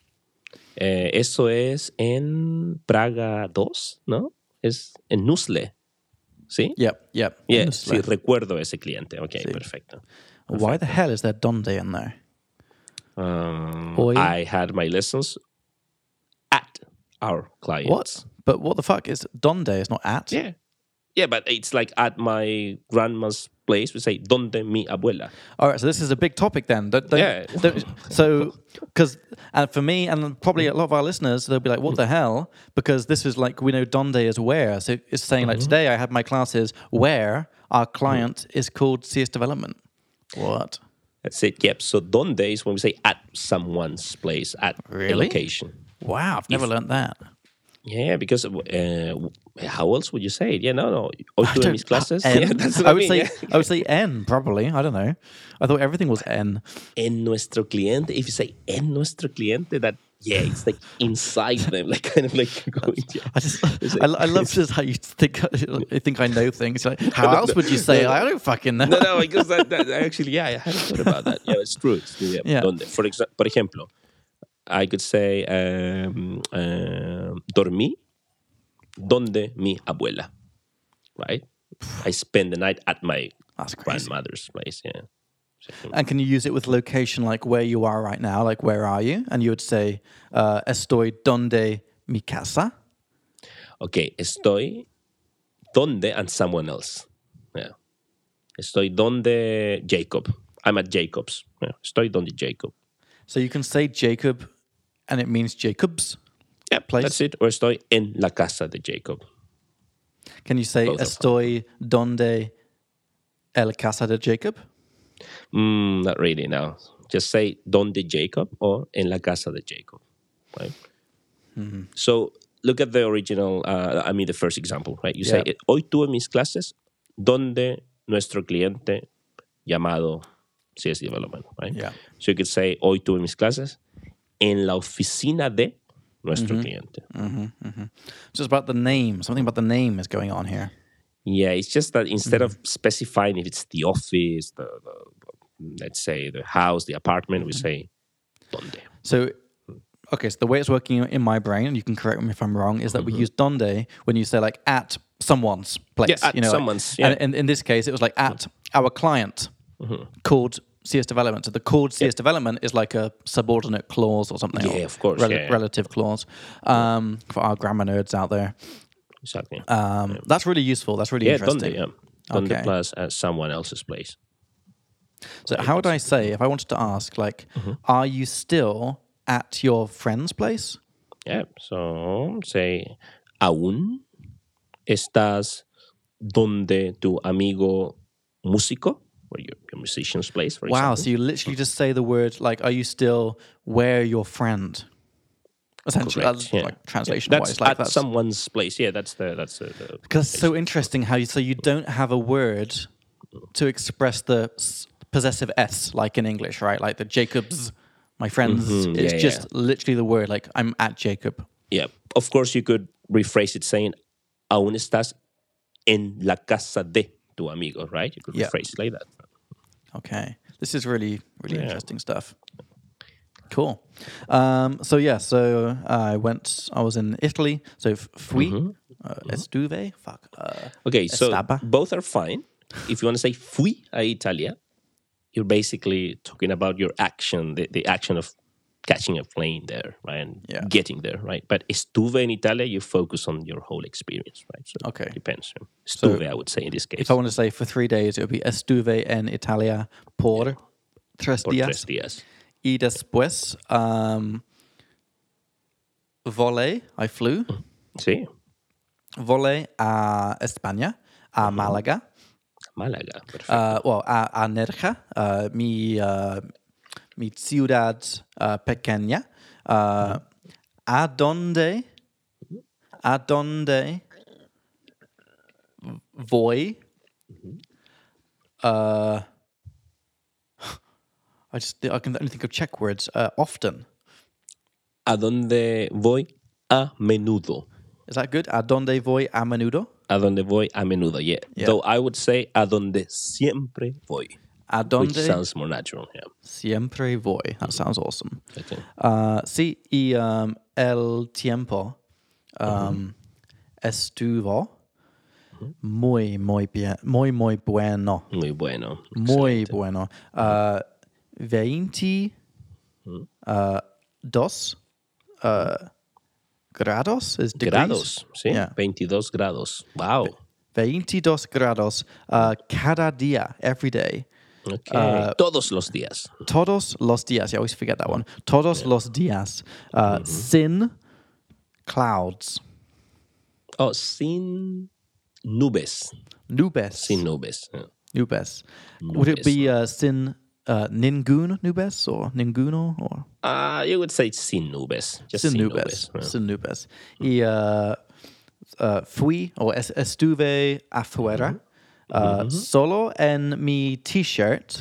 Eh, eso es en Praga dos, ¿no? Es en Nusle, ¿sí? Yep, yep. Yeah, Honestly. sí, recuerdo ese cliente. Ok, Sí. perfecto. Why the hell is there donde in there? Um, Hoy. I had my lessons at our clients. What? But what the fuck is donde? It's not at. Yeah. Yeah, but it's like at my grandma's place, we say, donde mi abuela. All right, so this is a big topic then. Don't, don't, Yeah. don't- so, because and for me and probably a lot of our listeners, they'll be like, "What the hell?" Because this is like we know donde is where. So it's saying like today I had my classes where our client is called C S Development. What? That's it. Yep. So donde is when we say at someone's place, at a Really? location. Wow, I've never If- learned that. Yeah, because uh, how else would you say it? Yeah, no, no. Hoy I tuve don't- mis clases. N? Yeah, that's what I I would mean. say yeah. I would say N probably. I don't know. I thought everything was N. En nuestro cliente. If you say en nuestro cliente, that yeah, it's like inside them, like kind of like going. Yeah. I just It's I, like- I love just how you think you think I know things. Like, how else would you say? it? I don't fucking know. No, no, because that, that actually, yeah, I hadn't thought about that. Yeah, it's true. It's, yeah, Yeah. Donde, for exa- por ejemplo, I could say um, um, dormí donde mi abuela, right? I spend the night at my That's crazy. grandmother's place. Yeah. And can you use it with location, like where you are right now? Like, where are you? And you would say, uh, estoy donde mi casa. Okay, estoy donde and someone else. Yeah. Estoy donde Jacob. I'm at Jacob's. Yeah. Estoy donde Jacob. So you can say Jacob, and it means Jacob's. Yeah, Place? that's it. Or estoy en la casa de Jacob. Can you say Both are estoy donde el casa de Jacob? Mm, not really, no. Just say donde Jacob or en la casa de Jacob. Right? Mm-hmm. So look at the original, uh, I mean the first example, right? You Yeah. say, hoy tuve mis clases donde nuestro cliente llamado C S Development, right? Yeah. So you could say, hoy tuve mis clases en la oficina de nuestro Mm-hmm. cliente. Just about the name. Something about the name is going on here. Yeah, it's just that instead Mm-hmm. of specifying if it's the office, the, the let's say the house, the apartment, we Mm-hmm. say donde. So, okay, so the way it's working in my brain, and you can correct me if I'm wrong, is that we use donde when you say like at someone's place. Mm-hmm. Yeah, at you know, like- someone's, yeah. And in, in this case, it was like at our client called C S Development. So the called C S Development is like a subordinate clause or something. Yeah, or of course, rel- yeah. Relative clause um, for our grammar nerds out there. Exactly. Um, That's really useful. That's really yeah, interesting. donde, yeah. Donde Okay. plus at someone else's place. So how would I say, if I wanted to ask, like, Mm-hmm. are you still at your friend's place? Yeah, so say, aún estás donde tu amigo músico, or your, your musician's place, for Wow, example. so you literally just say the word, like, are you still where your friend? Essentially, Correct, that's yeah. like translation That's wise. Like at that's someone's place. Yeah, that's the that's the. the because it's so interesting how you so you don't have a word to express the s- possessive s like in English, right? Like the Jacobs, my friends. Mhm, It's yeah, just yeah. literally the word. Like I'm at Jacob. Yeah, of course you could rephrase it saying, aún estás en la casa de tu amigo, right? You could Yeah. rephrase it like that. Okay, this is really really Yeah. interesting stuff. Cool. Um, so yeah, so I went. I was in Italy. So f- fui, Mm-hmm. uh, estuve. Fuck. Uh, Okay, so Estaba. both are fine. If you want to say fui a Italia, you're basically talking about your action, the, the action of catching a plane there, right? And Yeah. getting there, right? But estuve in Italia, you focus on your whole experience, right? So Okay. it depends. Estuve, I would say in this case. if I want to say for three days, it would be estuve en Italia por tres por días. tres días. y después um, volé, I flew, Sí, volé a España, a Málaga, Málaga, perfecto. uh, well, a, a Nerja, uh, mi, uh, mi ciudad uh, pequeña, uh, a donde, a donde voy, uh, I just I can only think of Czech words. Uh, often. ¿A dónde voy? A menudo. Is that good? A donde voy a menudo? A donde voy a menudo, yeah. Yeah. Though I would say a donde siempre voy, A which donde sounds more natural, yeah. siempre voy. That sounds awesome. Okay. Uh, sí, y um, el tiempo um, estuvo muy, muy bien, muy, muy bueno. Muy bueno. Muy excelente. bueno. Uh, veinte uh, dos uh, grados is degrees? Grados, sí. Yeah. veintidós grados. Wow. veintidós grados uh, cada día, every day. Okay. Todos los días. Todos los días. I always forget that one. Todos los días. Uh, Sin clouds. Oh, sin nubes. Nubes. Sin nubes. yeah. Nubes. Would it Nubes. be uh, sin uh, ningún nubes or ninguno or Uh, you would say sin nubes. Just sin, sin, nubes? nubes. yeah. Sin nubes. Y uh, uh, fui o es- estuve afuera uh, solo en mi t-shirt.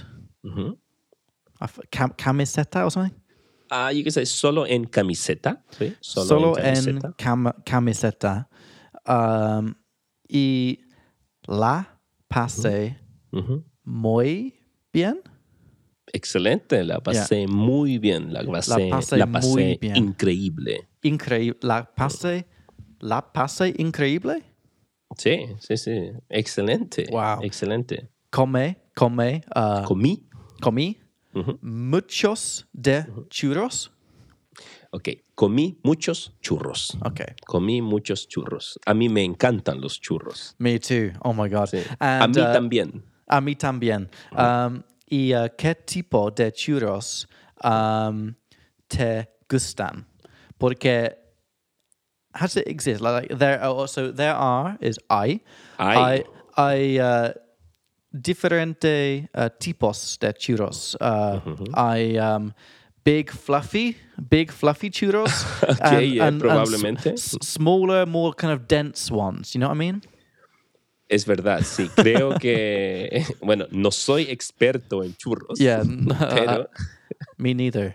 Af- cam- camiseta or something? Uh, you can say solo en camiseta. ¿sí? Solo, Solo en en camiseta. cam- camiseta. Um, y la pasé muy bien. Excelente. La pasé muy bien. La pasé, pasé la pasé muy bien. increíble. Increíble. La pasé, la pasé increíble. Sí, sí, sí. Excelente. Wow. Excelente. Come, come, uh, Comí. comí muchos de churros. Ok. Comí muchos churros. Okay. Comí muchos churros. A mí me encantan los churros. Me too. Oh my God. Sí. And, a mí uh, también. A mí también. Um, ¿Y uh, qué tipo de churros um, te gustan? Porque how does it exist? Like there are also there are is I Hay. I I uh, differente uh, tipos de churros. Uh, I um, big fluffy, big fluffy churros. Okay, yeah, s- probablemente. s- smaller, more kind of dense ones. You know what I mean? Es verdad, sí. Creo que, bueno, no soy experto en churros. Yeah. Pero Me neither.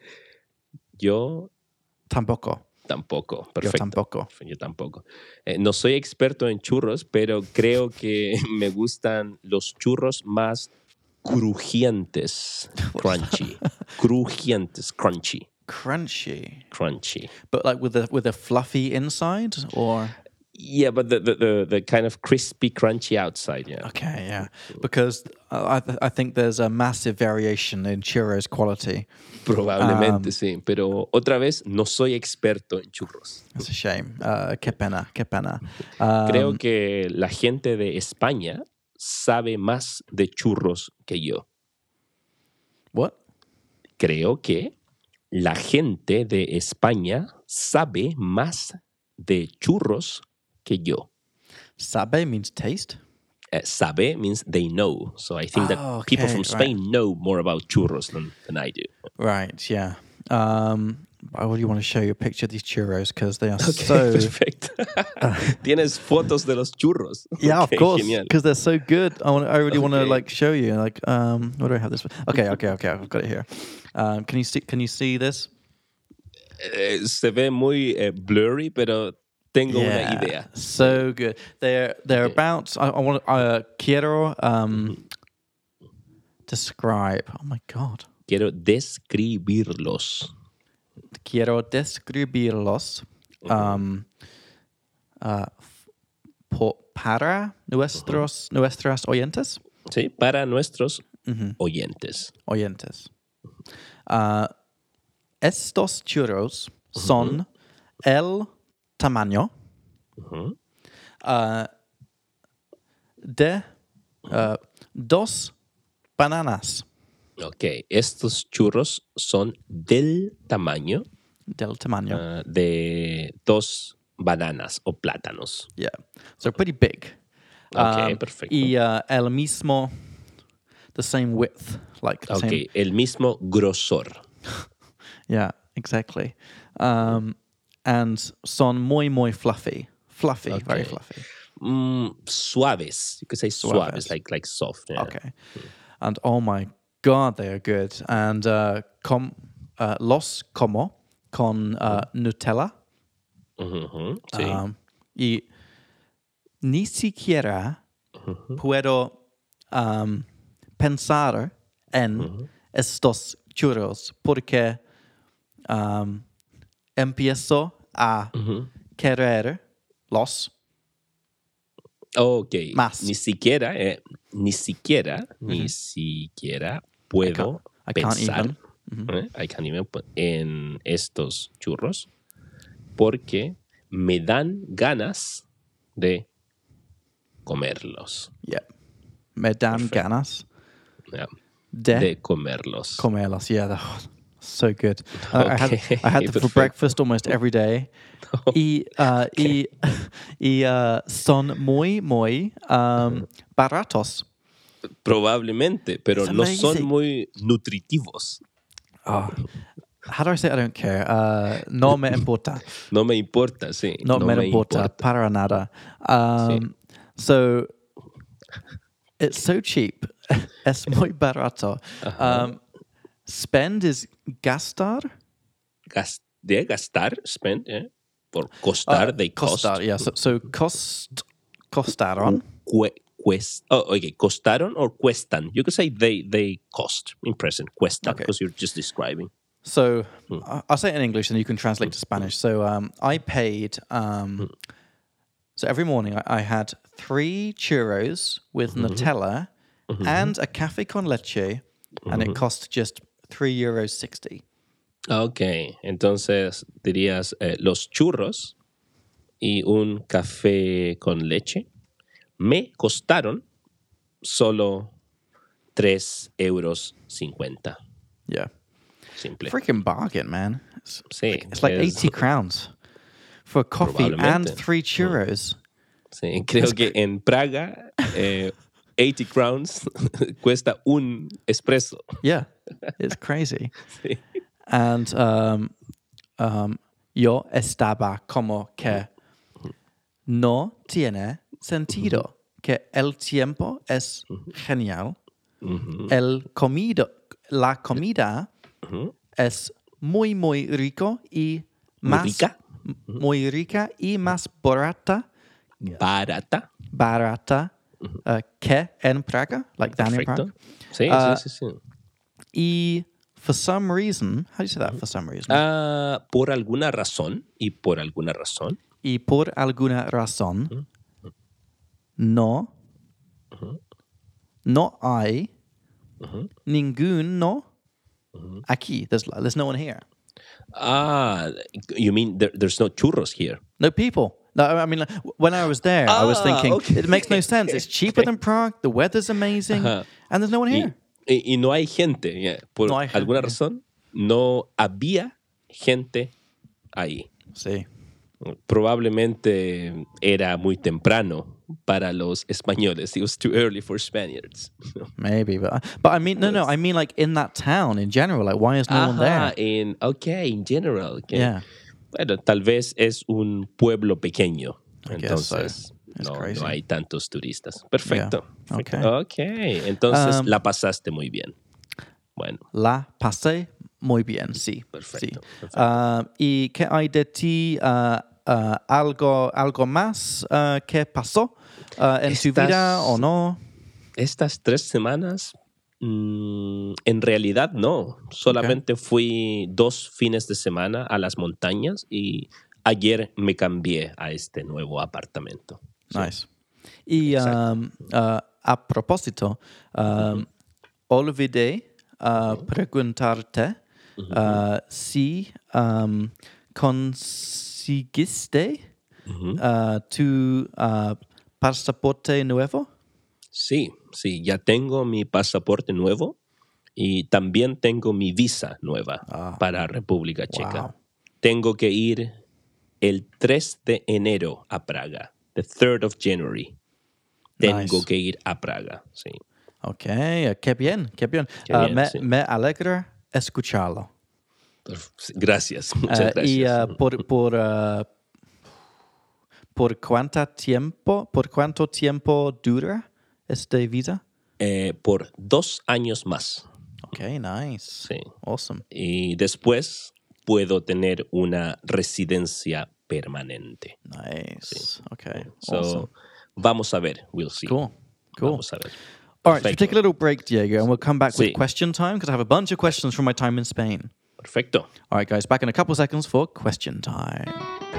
yo Tampoco. tampoco. Yo Perfecto. tampoco. Yo tampoco. Eh, no soy experto en churros, pero creo que me gustan los churros más crujientes. Crunchy. Crujientes. Crunchy. Crunchy. Crunchy. But like with the with a fluffy inside or Yeah, but the, the, the, the kind of crispy, crunchy outside, yeah. okay, yeah. Because I th- I think there's a massive variation in churros quality. Probablemente sí, pero otra vez no soy experto en churros. It's a shame. Uh, qué pena, qué pena. Um, Creo que la gente de España sabe más de churros que yo. what? Creo que la gente de España sabe más de churros que yo. Sabe means taste. Uh, sabe means they know. So I think Oh, that people okay, from Spain know more about churros than, than I do. Right. Yeah. Um, I really want to show you a picture of these churros because they are Okay, so. perfecto. Tienes fotos de los churros. Yeah, Okay, of course, genial. because they're so good. I want. I really want to Okay. like show you. Like, um, what do I have this? Okay, okay, okay. I've got it here. Um, can you see? Can you see this? Eh, se ve muy eh, blurry, pero tengo una idea. So good. They're they're Okay. about. I, I want. Uh, quiero um, describe. Oh my god. Quiero describirlos. Quiero describirlos. Um, uh, po- para nuestros nuestras oyentes. ¿Sí? Para nuestros oyentes. Oyentes. Uh, estos churros son el tamaño uh, de uh, dos bananas. Ok, estos churros son del tamaño Del tamaño. uh, de dos bananas o plátanos. Yeah. So pretty big. Ok, Um, perfecto. y uh, el mismo, the same width. Like the Ok, same. el mismo grosor. Yeah, exactly. Um, and son muy, muy fluffy. Fluffy, very Okay. fluffy. Mm, suaves. You could say suaves, Suaves. like like soft. Yeah. Okay. And oh my God, they are good. And uh, com, uh, los como con uh, Nutella. Ujú, sí. Um, y ni siquiera Ujú, puedo um, pensar en ujú. estos churros porque um, empiezo a Ujú. querer los Ok. más. Ni siquiera, eh, ni siquiera, ni siquiera puedo I can't pensar even. Mhm. eh, I can't even put- en estos churros porque me dan ganas de comerlos. Yeah. Me dan Perfecto. ganas Yeah. de, De comerlos. comerlos. Yeah, they're so good. I, I had Okay, I had them for perfecto. breakfast almost every day. Y, uh, y, y uh, son muy, muy um, baratos. Probablemente, pero It's no son amazing. muy nutritivos. Oh, how do I say I don't care? Uh, no me importa. No me importa, sí. No, No me me importa importa. para nada. Sí. Um, so it's so cheap. Es muy barato. Um, spend is gastar. Gas- de gastar, spend, eh, por costar, Uh, they cost. costar, yeah. So, so cost, costaron. Cue- cuest- oh, okay, costaron or cuestan. You could say they they cost in present, cuestan, Okay. because you're just describing. So I- I'll say it in English and you can translate to Spanish. So um, I paid. Um, so every morning I, I had three churros with Nutella and a cafe con leche, and it cost just three euros sixty. Ok, entonces dirías eh, los churros y un café con leche me costaron solo tres euros cincuenta. Yeah, Simple. freaking bargain, man. It's, Sí, it's like es- eighty crowns for coffee and Probablemente. three churros. Sí, creo que en Praga eh, eighty crowns cuesta un espresso. Yeah, it's crazy. Sí. And um, um, yo estaba como que no tiene sentido, que el tiempo es genial, el comido, la comida es muy, muy rico y Muy más rica. muy rica y más barata, Barata. barata uh, que en Praga, like than in Perfecto. Prague. Sí, Uh, sí, sí, sí. Y for some reason, how do you say that? For some reason. Ah, por alguna razón, y por alguna razón, Y por alguna razón, no, no hay ninguno aquí. There's, there's no one here. ah, you mean there, there's no churros here? No people. No, I mean, like, when I was there, I was Ah, thinking, okay. it makes no sense. It's cheaper than Prague, the weather's amazing, Ajá. and there's no one Y, here. y- y no hay gente, yeah. Por No hay gente, alguna yeah. razón, no había gente ahí. Sí. Probablemente era muy temprano para los españoles. It was too early for Spaniards. Maybe, but but I mean, no, no, I mean like in that town in general. Like, why is no one Ajá, there? en, ok, in general. Okay. Yeah. Bueno, tal vez es un pueblo pequeño. I guess so. Entonces, It's no, crazy. no hay tantos turistas. Perfecto. Yeah. perfecto. Ok, entonces Um, la pasaste muy bien. Bueno, La pasé muy bien, sí. Perfecto, Sí. perfecto. Uh, ¿Y qué hay de ti? Uh, uh, algo, ¿Algo más uh, que pasó uh, en tu Estas- vida o no? estas tres semanas, mm, en realidad no. Solamente fui dos fines de semana a las montañas y ayer me cambié a este nuevo apartamento. Sí. Nice. Y Exacto. um, uh, a propósito, um, olvidé uh, preguntarte uh, si um, conseguiste uh, tu uh, pasaporte nuevo. Sí, sí, ya tengo mi pasaporte nuevo Y también tengo mi visa nueva Ah. para República Checa. Wow. Tengo que ir el tres de enero a Praga. The third of January. Tengo Nice. que ir a Praga, sí. Ok, qué bien, qué bien. Qué Uh, bien, me, sí. me alegra escucharlo. Gracias, muchas Uh, gracias. y uh, por, por, uh, ¿por cuánto tiempo, por cuánto tiempo dura este visa? Eh, por dos años más. Ok, nice. Sí. Awesome. Y después puedo tener una residencia permanente. Nice. Sí. Okay. So, Awesome. vamos a ver. We'll see. Cool. Cool. Vamos a ver. All right, so Perfecto. take a little break, Diego, and we'll come back with Sí. question time because I have a bunch of questions from my time in Spain. Perfecto. All right, guys, back in a couple of seconds for question time.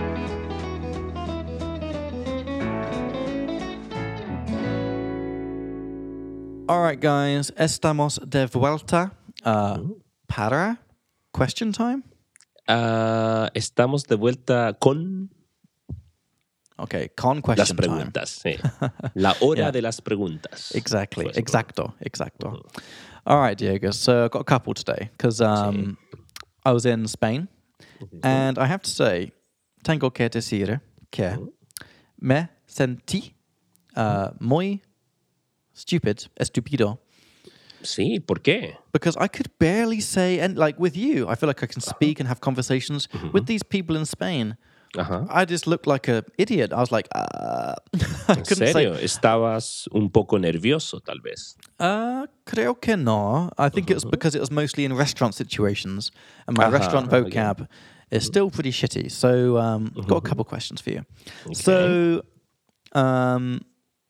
All right, guys, estamos de vuelta uh, para question time. Ah, estamos de vuelta con Okay, con las question time. preguntas. Sí. La hora Yeah. de las preguntas. Exactly, Pues, exacto, exacto. All right, Diego. So I've got a couple today because um, I was in Spain, and I have to say, tengo que decir que me sentí uh, muy stupid, estupido, Sí, ¿por qué? because I could barely say, and like with you, I feel like I can speak and have conversations with these people in Spain. Ajá. I just looked like an idiot. I was like, uh, I ¿En couldn't serio? say. ¿Estabas un poco nervioso, tal vez? Uh, creo que no. I think it was because it was mostly in restaurant situations, and my Aha, restaurant okay. vocab is still pretty shitty. So, um, got a couple questions for you. So, um,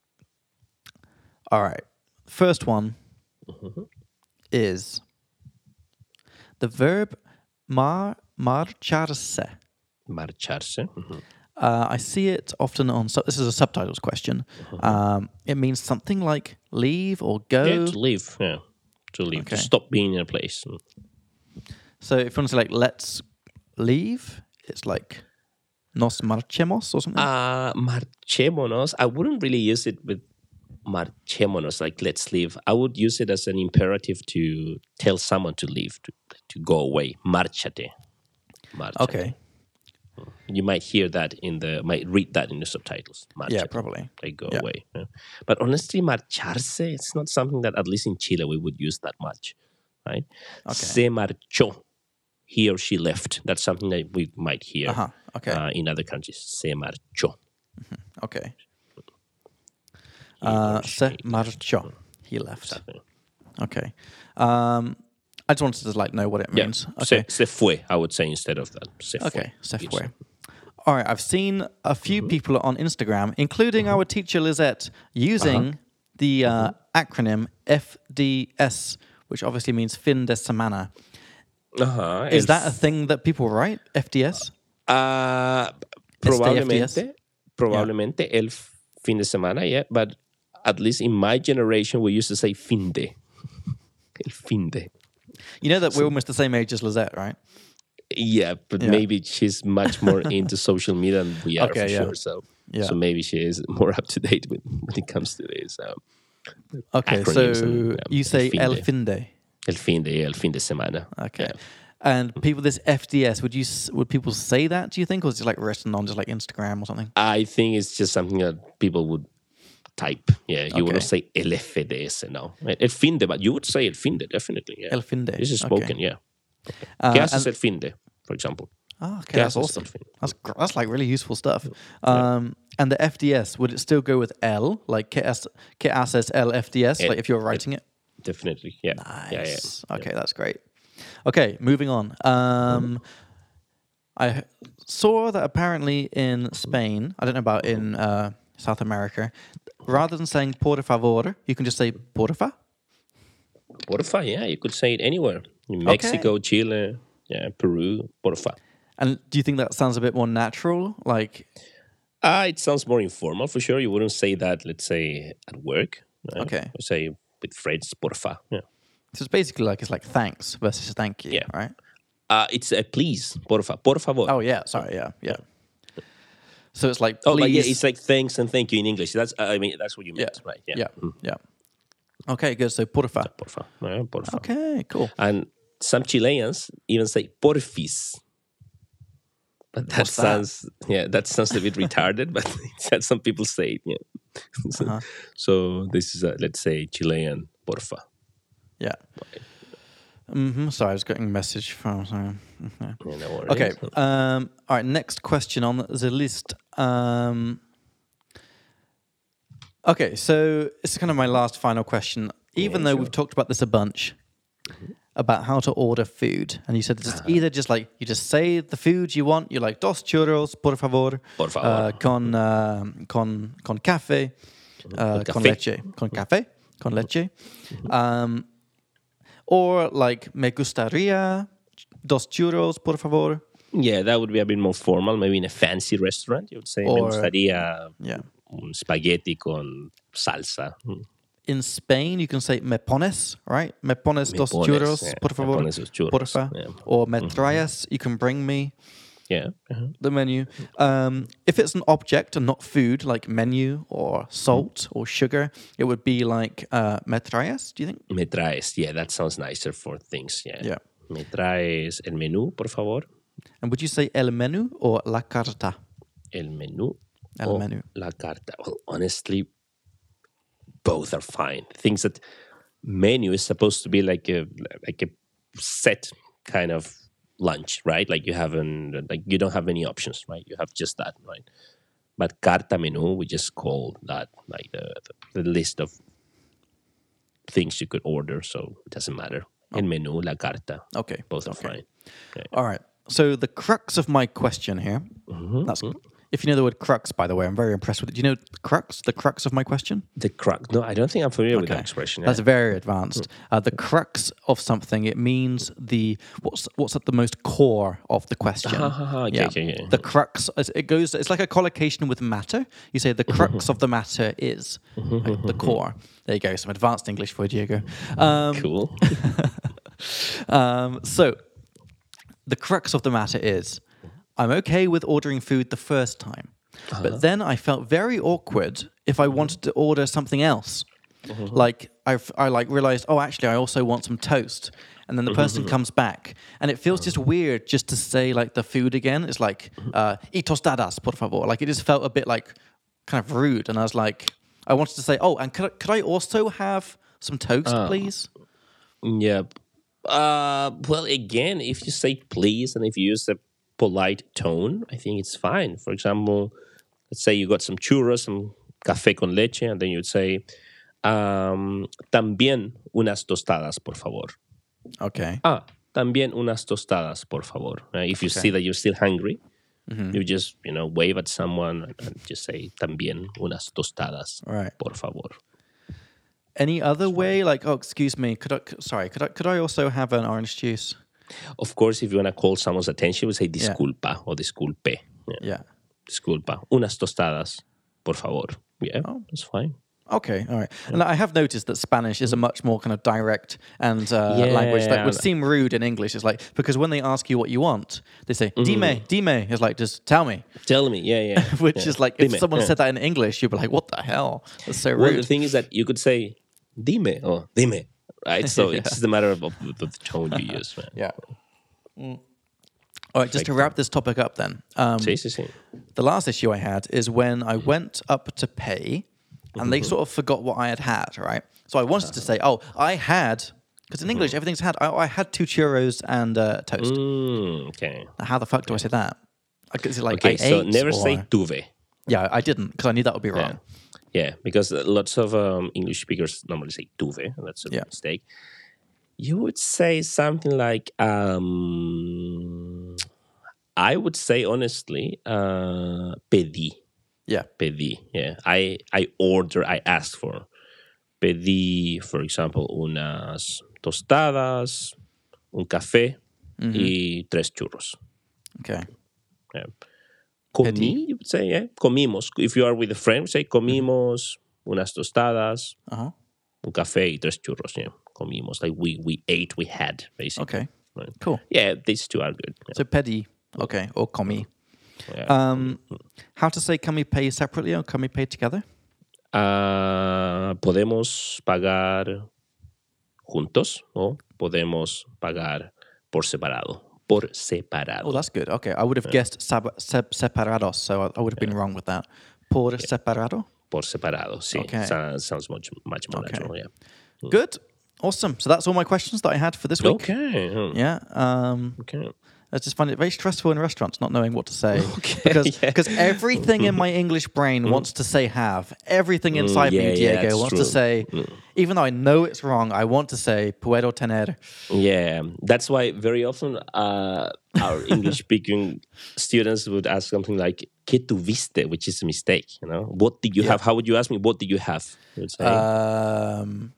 all right. First one is the verb mar marcharse. Marcharse. Ujú. Uh, I see it often on. Su- this is a subtitles question. Um, it means something like leave or go. Yeah, to leave. Yeah, to leave. Okay. To stop being in a place. So if you want to say like let's leave, it's like nos marchemos or something. Uh, marchémonos. I wouldn't really use it with marchémonos, like let's leave. I would use it as an imperative to tell someone to leave, to, to go away. Márchate. Márchate. Okay. You might hear that in the, might read that in the subtitles. Márchate. Yeah, probably. Like go Yeah. away. Yeah. But honestly, marcharse, it's not something that, at least in Chile, we would use that much, right? Okay. Se marchó. He or she left. That's something that we might hear Uh-huh. Okay. uh, in other countries. Se marchó. Okay. He Uh, or she se left. marchó. He left. Exactly. Okay. Um, I just wanted to like know what it Yeah. means. Se, Okay. se fue, I would say instead of that. Se fue. Okay. Se Yes. fue. All right. I've seen a few people on Instagram, including our teacher Lizette, using the uh, acronym F D S, which obviously means fin de semana. Ajá, Is el that a thing that people write? F D S? Ah, F D S? probablemente, probablemente el fin de semana, yeah. But at least in my generation, we used to say fin de. El fin de. You know that we're almost the same age as Lizette, right? Yeah, but Yeah. maybe she's much more into social media than we are Okay, for yeah. sure. So, Yeah. so maybe she is more up to date with, when it comes to this. Um, Okay, acronyms so and, um, you say fin el de. fin de. el fin de, el fin de semana. Okay. Yeah. And people, this F D S, would you s- would people say that? Do you think, or is it like written on just like Instagram or something? I think it's just something that people would type. Yeah, you wouldn't Okay. say el F D S, no. El fin de, but you would say el fin de, definitely. Yeah. El fin de. This is Okay. spoken, yeah. Uh, ¿Qué haces and- el fin de, for example? Oh, okay, ¿Qué that's haces awesome. el fin de? That's gr- that's like really useful stuff. Um, and the F D S, would it still go with L, like que, has, que haces el F D S, El- like if you're writing it? Definitely, yeah. Nice. Yeah, yeah. Okay, that's great. Okay, moving on. Um, I h- saw that apparently in Spain, I don't know about in uh, South America, rather than saying por favor, you can just say porfa. Porfa, yeah, you could say it anywhere. In Mexico, Chile, yeah, Peru, porfa. And do you think that sounds a bit more natural? Like, Ah, it sounds more informal for sure. You wouldn't say that, let's say, at work. Right? Okay. You say with friends, porfa. Yeah. so it's basically like it's like thanks versus thank you, Yeah. right? Uh, it's a please, porfa, por favor. Oh yeah, sorry, yeah, yeah. So it's like Oh, but yeah, please- it's like thanks and thank you in English. That's, uh, I mean, that's what you yeah, meant, right? yeah, Mm. yeah. Okay, good. So porfa. Porfa. Yeah, porfa. Okay, cool. And some Chileans even say porfis. But that What's that? sounds, yeah, that sounds a bit retarded, but some people say it, yeah. so, Uh-huh. so this is, a, let's say, Chilean porfa. Yeah. Mm-hmm. Sorry, I was getting a message from... Sorry. Okay. Yeah, no worries. Okay. Um, all right. Next question on the list. Um, okay, so it's kind of my last final question. Even Yeah, though sure. we've talked about this a bunch, mm-hmm. about how to order food, and you said it's Uh-huh. either just like you just say the food you want. You're like dos churros, por favor, Por favor. Uh, con uh, con con café, uh, Con con café. leche, con café, con leche. Um, or like me gustaría dos churros, por favor. Yeah, that would be a bit more formal. Maybe in a fancy restaurant, you would say, Or- me gustaría Yeah. un spaghetti con salsa. Mm. In Spain, you can say me pones, right? Me pones Me dos pones, churros, yeah. por Me favor, pones dos churros, porfa. yeah. Or me traes, you can bring me Yeah. Uh-huh. the menu. Um, if it's an object and not food, like menu or salt or sugar, it would be like uh, me traes, do you think? Me traes. Yeah, that sounds nicer for things. Yeah. Yeah. Me traes el menú, por favor. And would you say el menú or la carta? El menú. El o menú. La carta. Well, honestly, both are fine. Things that menu is supposed to be like a like a set kind of lunch, right? Like you haven't, like you don't have any options, right? You have just that, right? But carta menú, we just call that like the, the, the list of things you could order, so it doesn't matter. El menú, la carta, Okay. both are okay. fine. Okay. All right. So the crux of my question here, that's, if you know the word crux, by the way, I'm very impressed with it. Do you know the crux, the crux of my question? The crux. No, I don't think I'm familiar with that expression. That's yeah. very advanced. Uh, the crux of something, it means the what's what's at the most core of the question. Ah, ah, ah, okay, okay, okay. The crux, it goes. It's like a collocation with matter. You say the crux of the matter is like the core. There you go. Some advanced English for you, Diego. Um, Cool. um, so the crux of the matter is, I'm okay with ordering food the first time, Uh-huh. but then I felt very awkward if I wanted to order something else. Like I, I like realized, oh, actually, I also want some toast, and then the person comes back, and it feels just weird just to say like the food again. It's like uh, "y tostadas, por favor." Like it just felt a bit like kind of rude, and I was like, I wanted to say, oh, and could I, could I also have some toast, please? Yeah. Uh, well, again, if you say please and if you use a polite tone, I think it's fine. For example, let's say you got some churros, some café con leche, and then you'd say, um, también unas tostadas, por favor. Okay. Ah, también unas tostadas, por favor. Uh, if you see that you're still hungry, you just, you know, wave at someone and, and just say, también unas tostadas, Right. por favor. Any other way? Like, oh, excuse me. Could I? Sorry. Could I? Could I also have an orange juice? Of course, if you want to call someone's attention, we say disculpa or disculpe. Yeah. Yeah. Disculpa. Unas tostadas, por favor. Yeah, Oh. that's fine. Okay. All right. And I have noticed that Spanish is a much more kind of direct and uh, Yeah. language that would seem rude in English. It's like because when they ask you what you want, they say "dime, dime." It's like just tell me. Tell me. Yeah, yeah. Which yeah. is like if Dime, someone yeah. said that in English, you'd be like, "What the hell? That's so Well, the rude." thing is that you could say dime or dime, right? So it's just a matter of, of, of the tone you use, man. Yeah. Mm. All right. Just to wrap this topic up, then. Um, Sí, sí, sí. The last issue I had is when I went up to pay and they sort of forgot what I had had, right? So I wanted to say, oh, I had, because in English, everything's had, I, I had two churros and uh, toast. Mm, okay. Now, how the fuck do I say that? I could say like, Okay, I so ate, never or- say tuve. Yeah, I didn't, because I knew that would be Yeah. wrong. Yeah, because lots of um, English speakers normally say tuve, and that's a Yeah. mistake. You would say something like, um, I would say honestly, uh, pedí. Yeah. Pedí, yeah. I, I order, I asked for. Pedí, for example, unas tostadas, un café y tres churros. Okay. Yeah. Comí, you would say, yeah. Comimos. If you are with a friend, say comimos unas tostadas, Uh-huh. un café y tres churros, yeah. Comimos. Like we, we ate, we had, basically. Okay. Right. Cool. Yeah, these two are good. Yeah. So pedi, okay, or comi. Yeah. Um, how to say can we pay separately or can we pay together? Ah, podemos pagar juntos o podemos pagar por separado. Por separado. Oh, that's good. Okay, I would have guessed sab- sep- separados, so I, I would have been wrong with that. Por separado? Por separado, sí. Okay. Sounds, sounds much, much more Okay. natural, yeah. Good. Awesome. So that's all my questions that I had for this week. Okay. hmm, Yeah. Um, Okay. I just find it very stressful in restaurants not knowing what to say. Okay, Because yeah. because everything in my English brain wants to say have. Everything inside yeah, me, yeah, Diego, that's wants true. to say, even though I know it's wrong, I want to say puedo tener. Yeah, that's why very often uh, our English-speaking students would ask something like "¿Qué tuviste?", which is a mistake. You know, what did you Yeah. have? How would you ask me? What did you have? You would say, Um,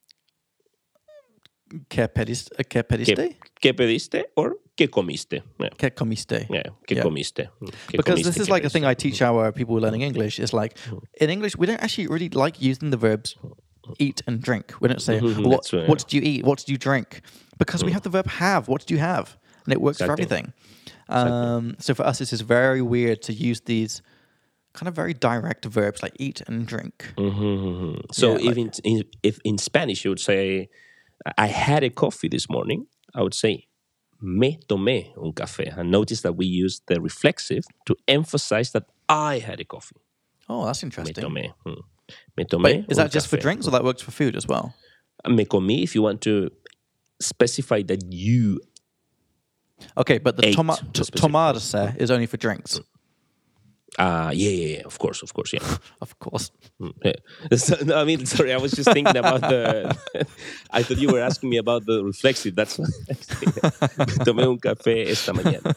¿Qué pediste? ¿Qué pediste? ¿Qué, qué pediste? Or ¿qué comiste? Yeah, ¿Qué comiste? yeah. ¿Qué Yeah. comiste? Mm, ¿Qué Because comiste? this is ¿Qué like a pediste? thing I teach our people learning English. Is like in English we don't actually really like using the verbs eat and drink. We don't say Mhm, what, that's right, what did you eat? What did you drink? Because we have the verb have. What did you have? And it works for Exactly. everything. Um, so for us, this is very weird to use these kind of very direct verbs like eat and drink. Mhm. So Yeah, if, in, in, if in Spanish you would say, I had a coffee this morning, I would say, me tomé un café. And notice that we use the reflexive to emphasize that I had a coffee. Oh, that's Me interesting. tomé. mm. Me tomé But is un that just for café. drinks or that works for food as well? Me comí, if you want to specify that you Okay, but the Ate toma- the t- specific tomarse is only for drinks, Ah, yeah, yeah, yeah, of course, of course, yeah. of course. Mm, yeah. So, no, I mean, sorry, I was just thinking about the. I thought you were asking me about the reflexive. That's what I Me tomé un café esta mañana.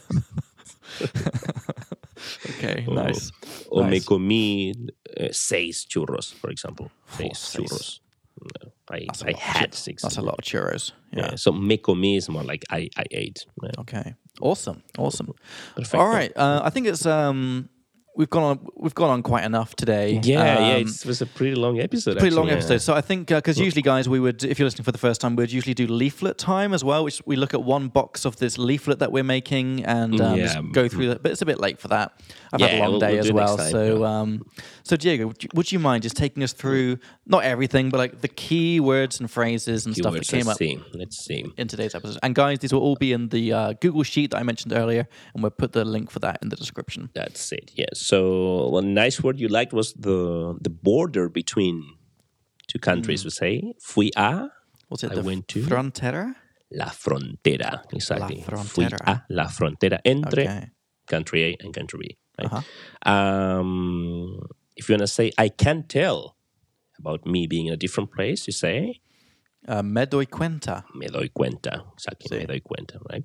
Okay, nice. O me Nice. comí uh, seis churros, for example. Seis seis. churros. No, I, That's a I lot of had chur- six. That's a lot of churros. Yeah. Yeah. So me comí is more like I, I ate. Yeah. Okay. Awesome. Awesome. Perfecto. All right. Uh, I think it's um we've gone on we've gone on quite enough today. Yeah, yeah, Um, it's, it was a pretty long episode. Pretty long actually, yeah. episode. So I think because usually, guys, we would, if you're listening for the first time, we'd usually do leaflet time as well, which we look at one box of this leaflet that we're making and um, Yeah. just go through that. But it's a bit late for that. I've had a Yeah, long we'll- day we'll as do next well. time, so, yeah. um, so Diego, would you, would you mind just taking us through not everything, but like the key words and phrases and stuff that Keywords, came let's up see. Let's see. in today's episode? And guys, these will all be in the uh, Google sheet that I mentioned earlier, and we'll put the link for that in the description. That's it. Yeah. So one nice word you liked was the the border between two countries. We say fui a Was it I the went to- frontera? la frontera. Exactly. La Fui frontera. a la frontera entre Okay. country A and country B. Right? Uh-huh. Um, if you want to say I can tell about me being in a different place, you say Uh, me doy cuenta. me doy cuenta. Exactly. Sí. Me doy cuenta. Right.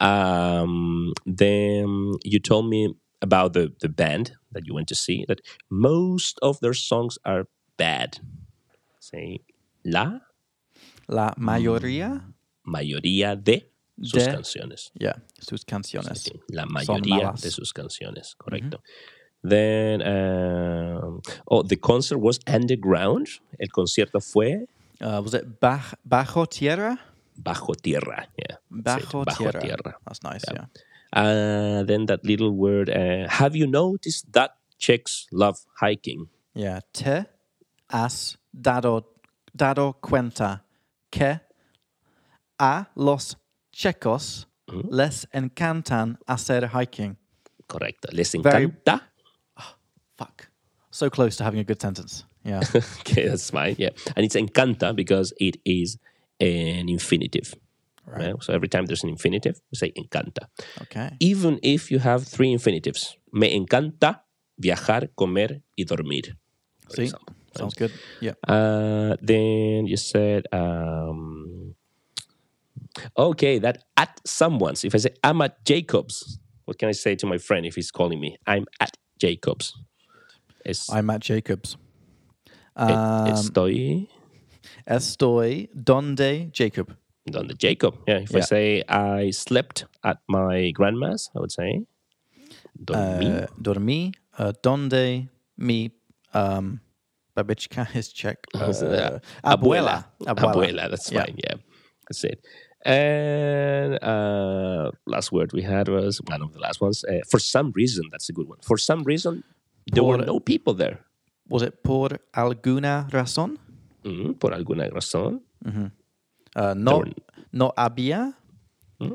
Um, then you told me about the, the band that you went to see, that most of their songs are bad. Say, la La mayoría mayoría de sus De- canciones. Yeah, sus canciones. Sí, la Son mayoría malas. de sus canciones, correcto. Then, um, oh, the concert was underground. El concierto fue Uh, was it baj- bajo tierra? bajo tierra. Yeah, that's it, Bajo, bajo tierra. tierra. That's nice, yeah. Uh, then that little word. Uh, have you noticed that Czechs love hiking? Yeah, te has dado, dado cuenta que a los checos les encantan hacer hiking. Correcto. Les Very- encanta. Fuck. So close to having a good sentence. Yeah. Okay, that's fine. Yeah, and it's encanta because it is an infinitive. Right. Right? So every time there's an infinitive, we say encanta. Okay. Even if you have three infinitives. Me encanta viajar, comer y dormir. For See? example. Sounds good. Yeah. Uh, then you said, um, okay, that at someone's. If I say I'm at Jacob's, what can I say to my friend if he's calling me? I'm at Jacob's. Es, I'm at Jacob's. e- Um, estoy estoy donde Jacob. on the Jacob. Yeah. If I Yeah. say I slept at my grandma's, I would say dormí. Uh, dormí. Uh, donde mi um, babička is Czech. Uh, Uh, abuela. Abuela. That's Yeah. fine. Yeah, that's it. And uh, last word we had was one of the last ones. Uh, for some reason, that's a good one. For some reason, there were Por- no people there. Was it por alguna razón? Mm, por alguna razón. Uh, no, There- no había Mm.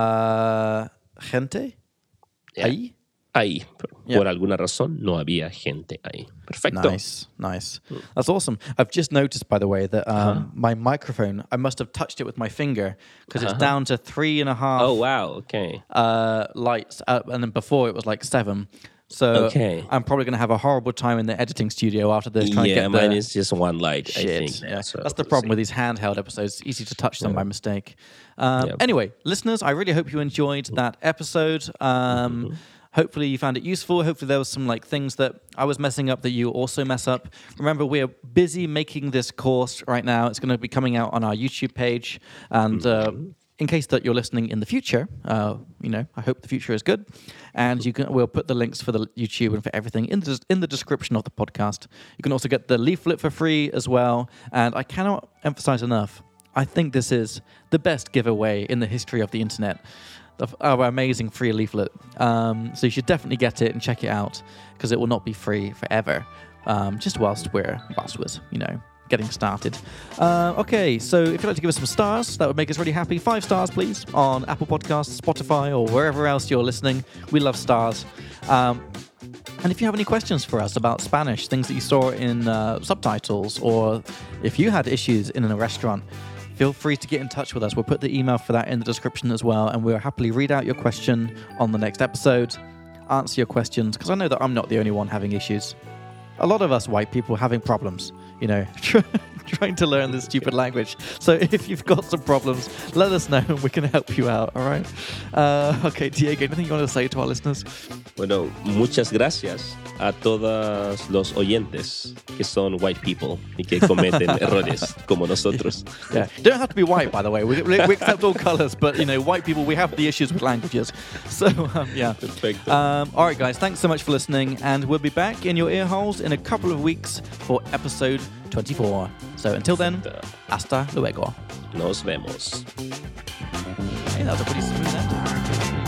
uh, gente Yeah. ahí. Ahí, por, Yeah. por alguna razón, no había gente ahí. Perfecto. Nice, nice. That's awesome. I've just noticed, by the way, that um, Uh-huh. my microphone, I must have touched it with my finger because it's Uh-huh. down to three and a half Oh, wow. Okay. uh, lights. Uh, and then before it was like seven. So Okay. I'm probably going to have a horrible time in the editing studio after this trying Yeah, to get mine the is just one light, I shit. think. Yeah. So That's the we'll problem see. with these handheld episodes. It's easy to touch them by mistake. Um, Yeah. Anyway, listeners, I really hope you enjoyed that episode. Um, Mm-hmm. Hopefully you found it useful. Hopefully there was some like things that I was messing up that you also mess up. Remember, we're busy making this course right now. It's going to be coming out on our YouTube page. And uh, in case that you're listening in the future, uh, you know, I hope the future is good. And you can we'll put the links for the YouTube and for everything in the, in the description of the podcast. You can also get the leaflet for free as well. And I cannot emphasize enough, I think this is the best giveaway in the history of the internet. Of our amazing free leaflet. Um, so you should definitely get it and check it out because it will not be free forever. Um, just whilst we're whilst we're you know getting started. Uh, okay, so if you'd like to give us some stars, that would make us really happy. Five stars, please, on Apple Podcasts, Spotify, or wherever else you're listening. We love stars. Um, And if you have any questions for us about Spanish, things that you saw in uh, subtitles, or if you had issues in a restaurant, feel free to get in touch with us. We'll put the email for that in the description as well, and we'll happily read out your question on the next episode, answer your questions, because I know that I'm not the only one having issues. A lot of us white people having problems, you know, trying to learn this stupid language. So if you've got some problems, let us know and we can help you out, all right? Uh, okay, Diego, anything you want to say to our listeners? Bueno, muchas gracias a todos los oyentes que son white people y que cometen errores como nosotros. Yeah, you don't have to be white, by the way. We, we, we accept all colors, but, you know, white people, we have the issues with languages. So, um, yeah. Perfecto. Um, all right, guys, thanks so much for listening, and we'll be back in your ear holes in a couple of weeks for episode twenty-four. So until then, hasta luego. Nos vemos. Hey, that was a pretty smooth end.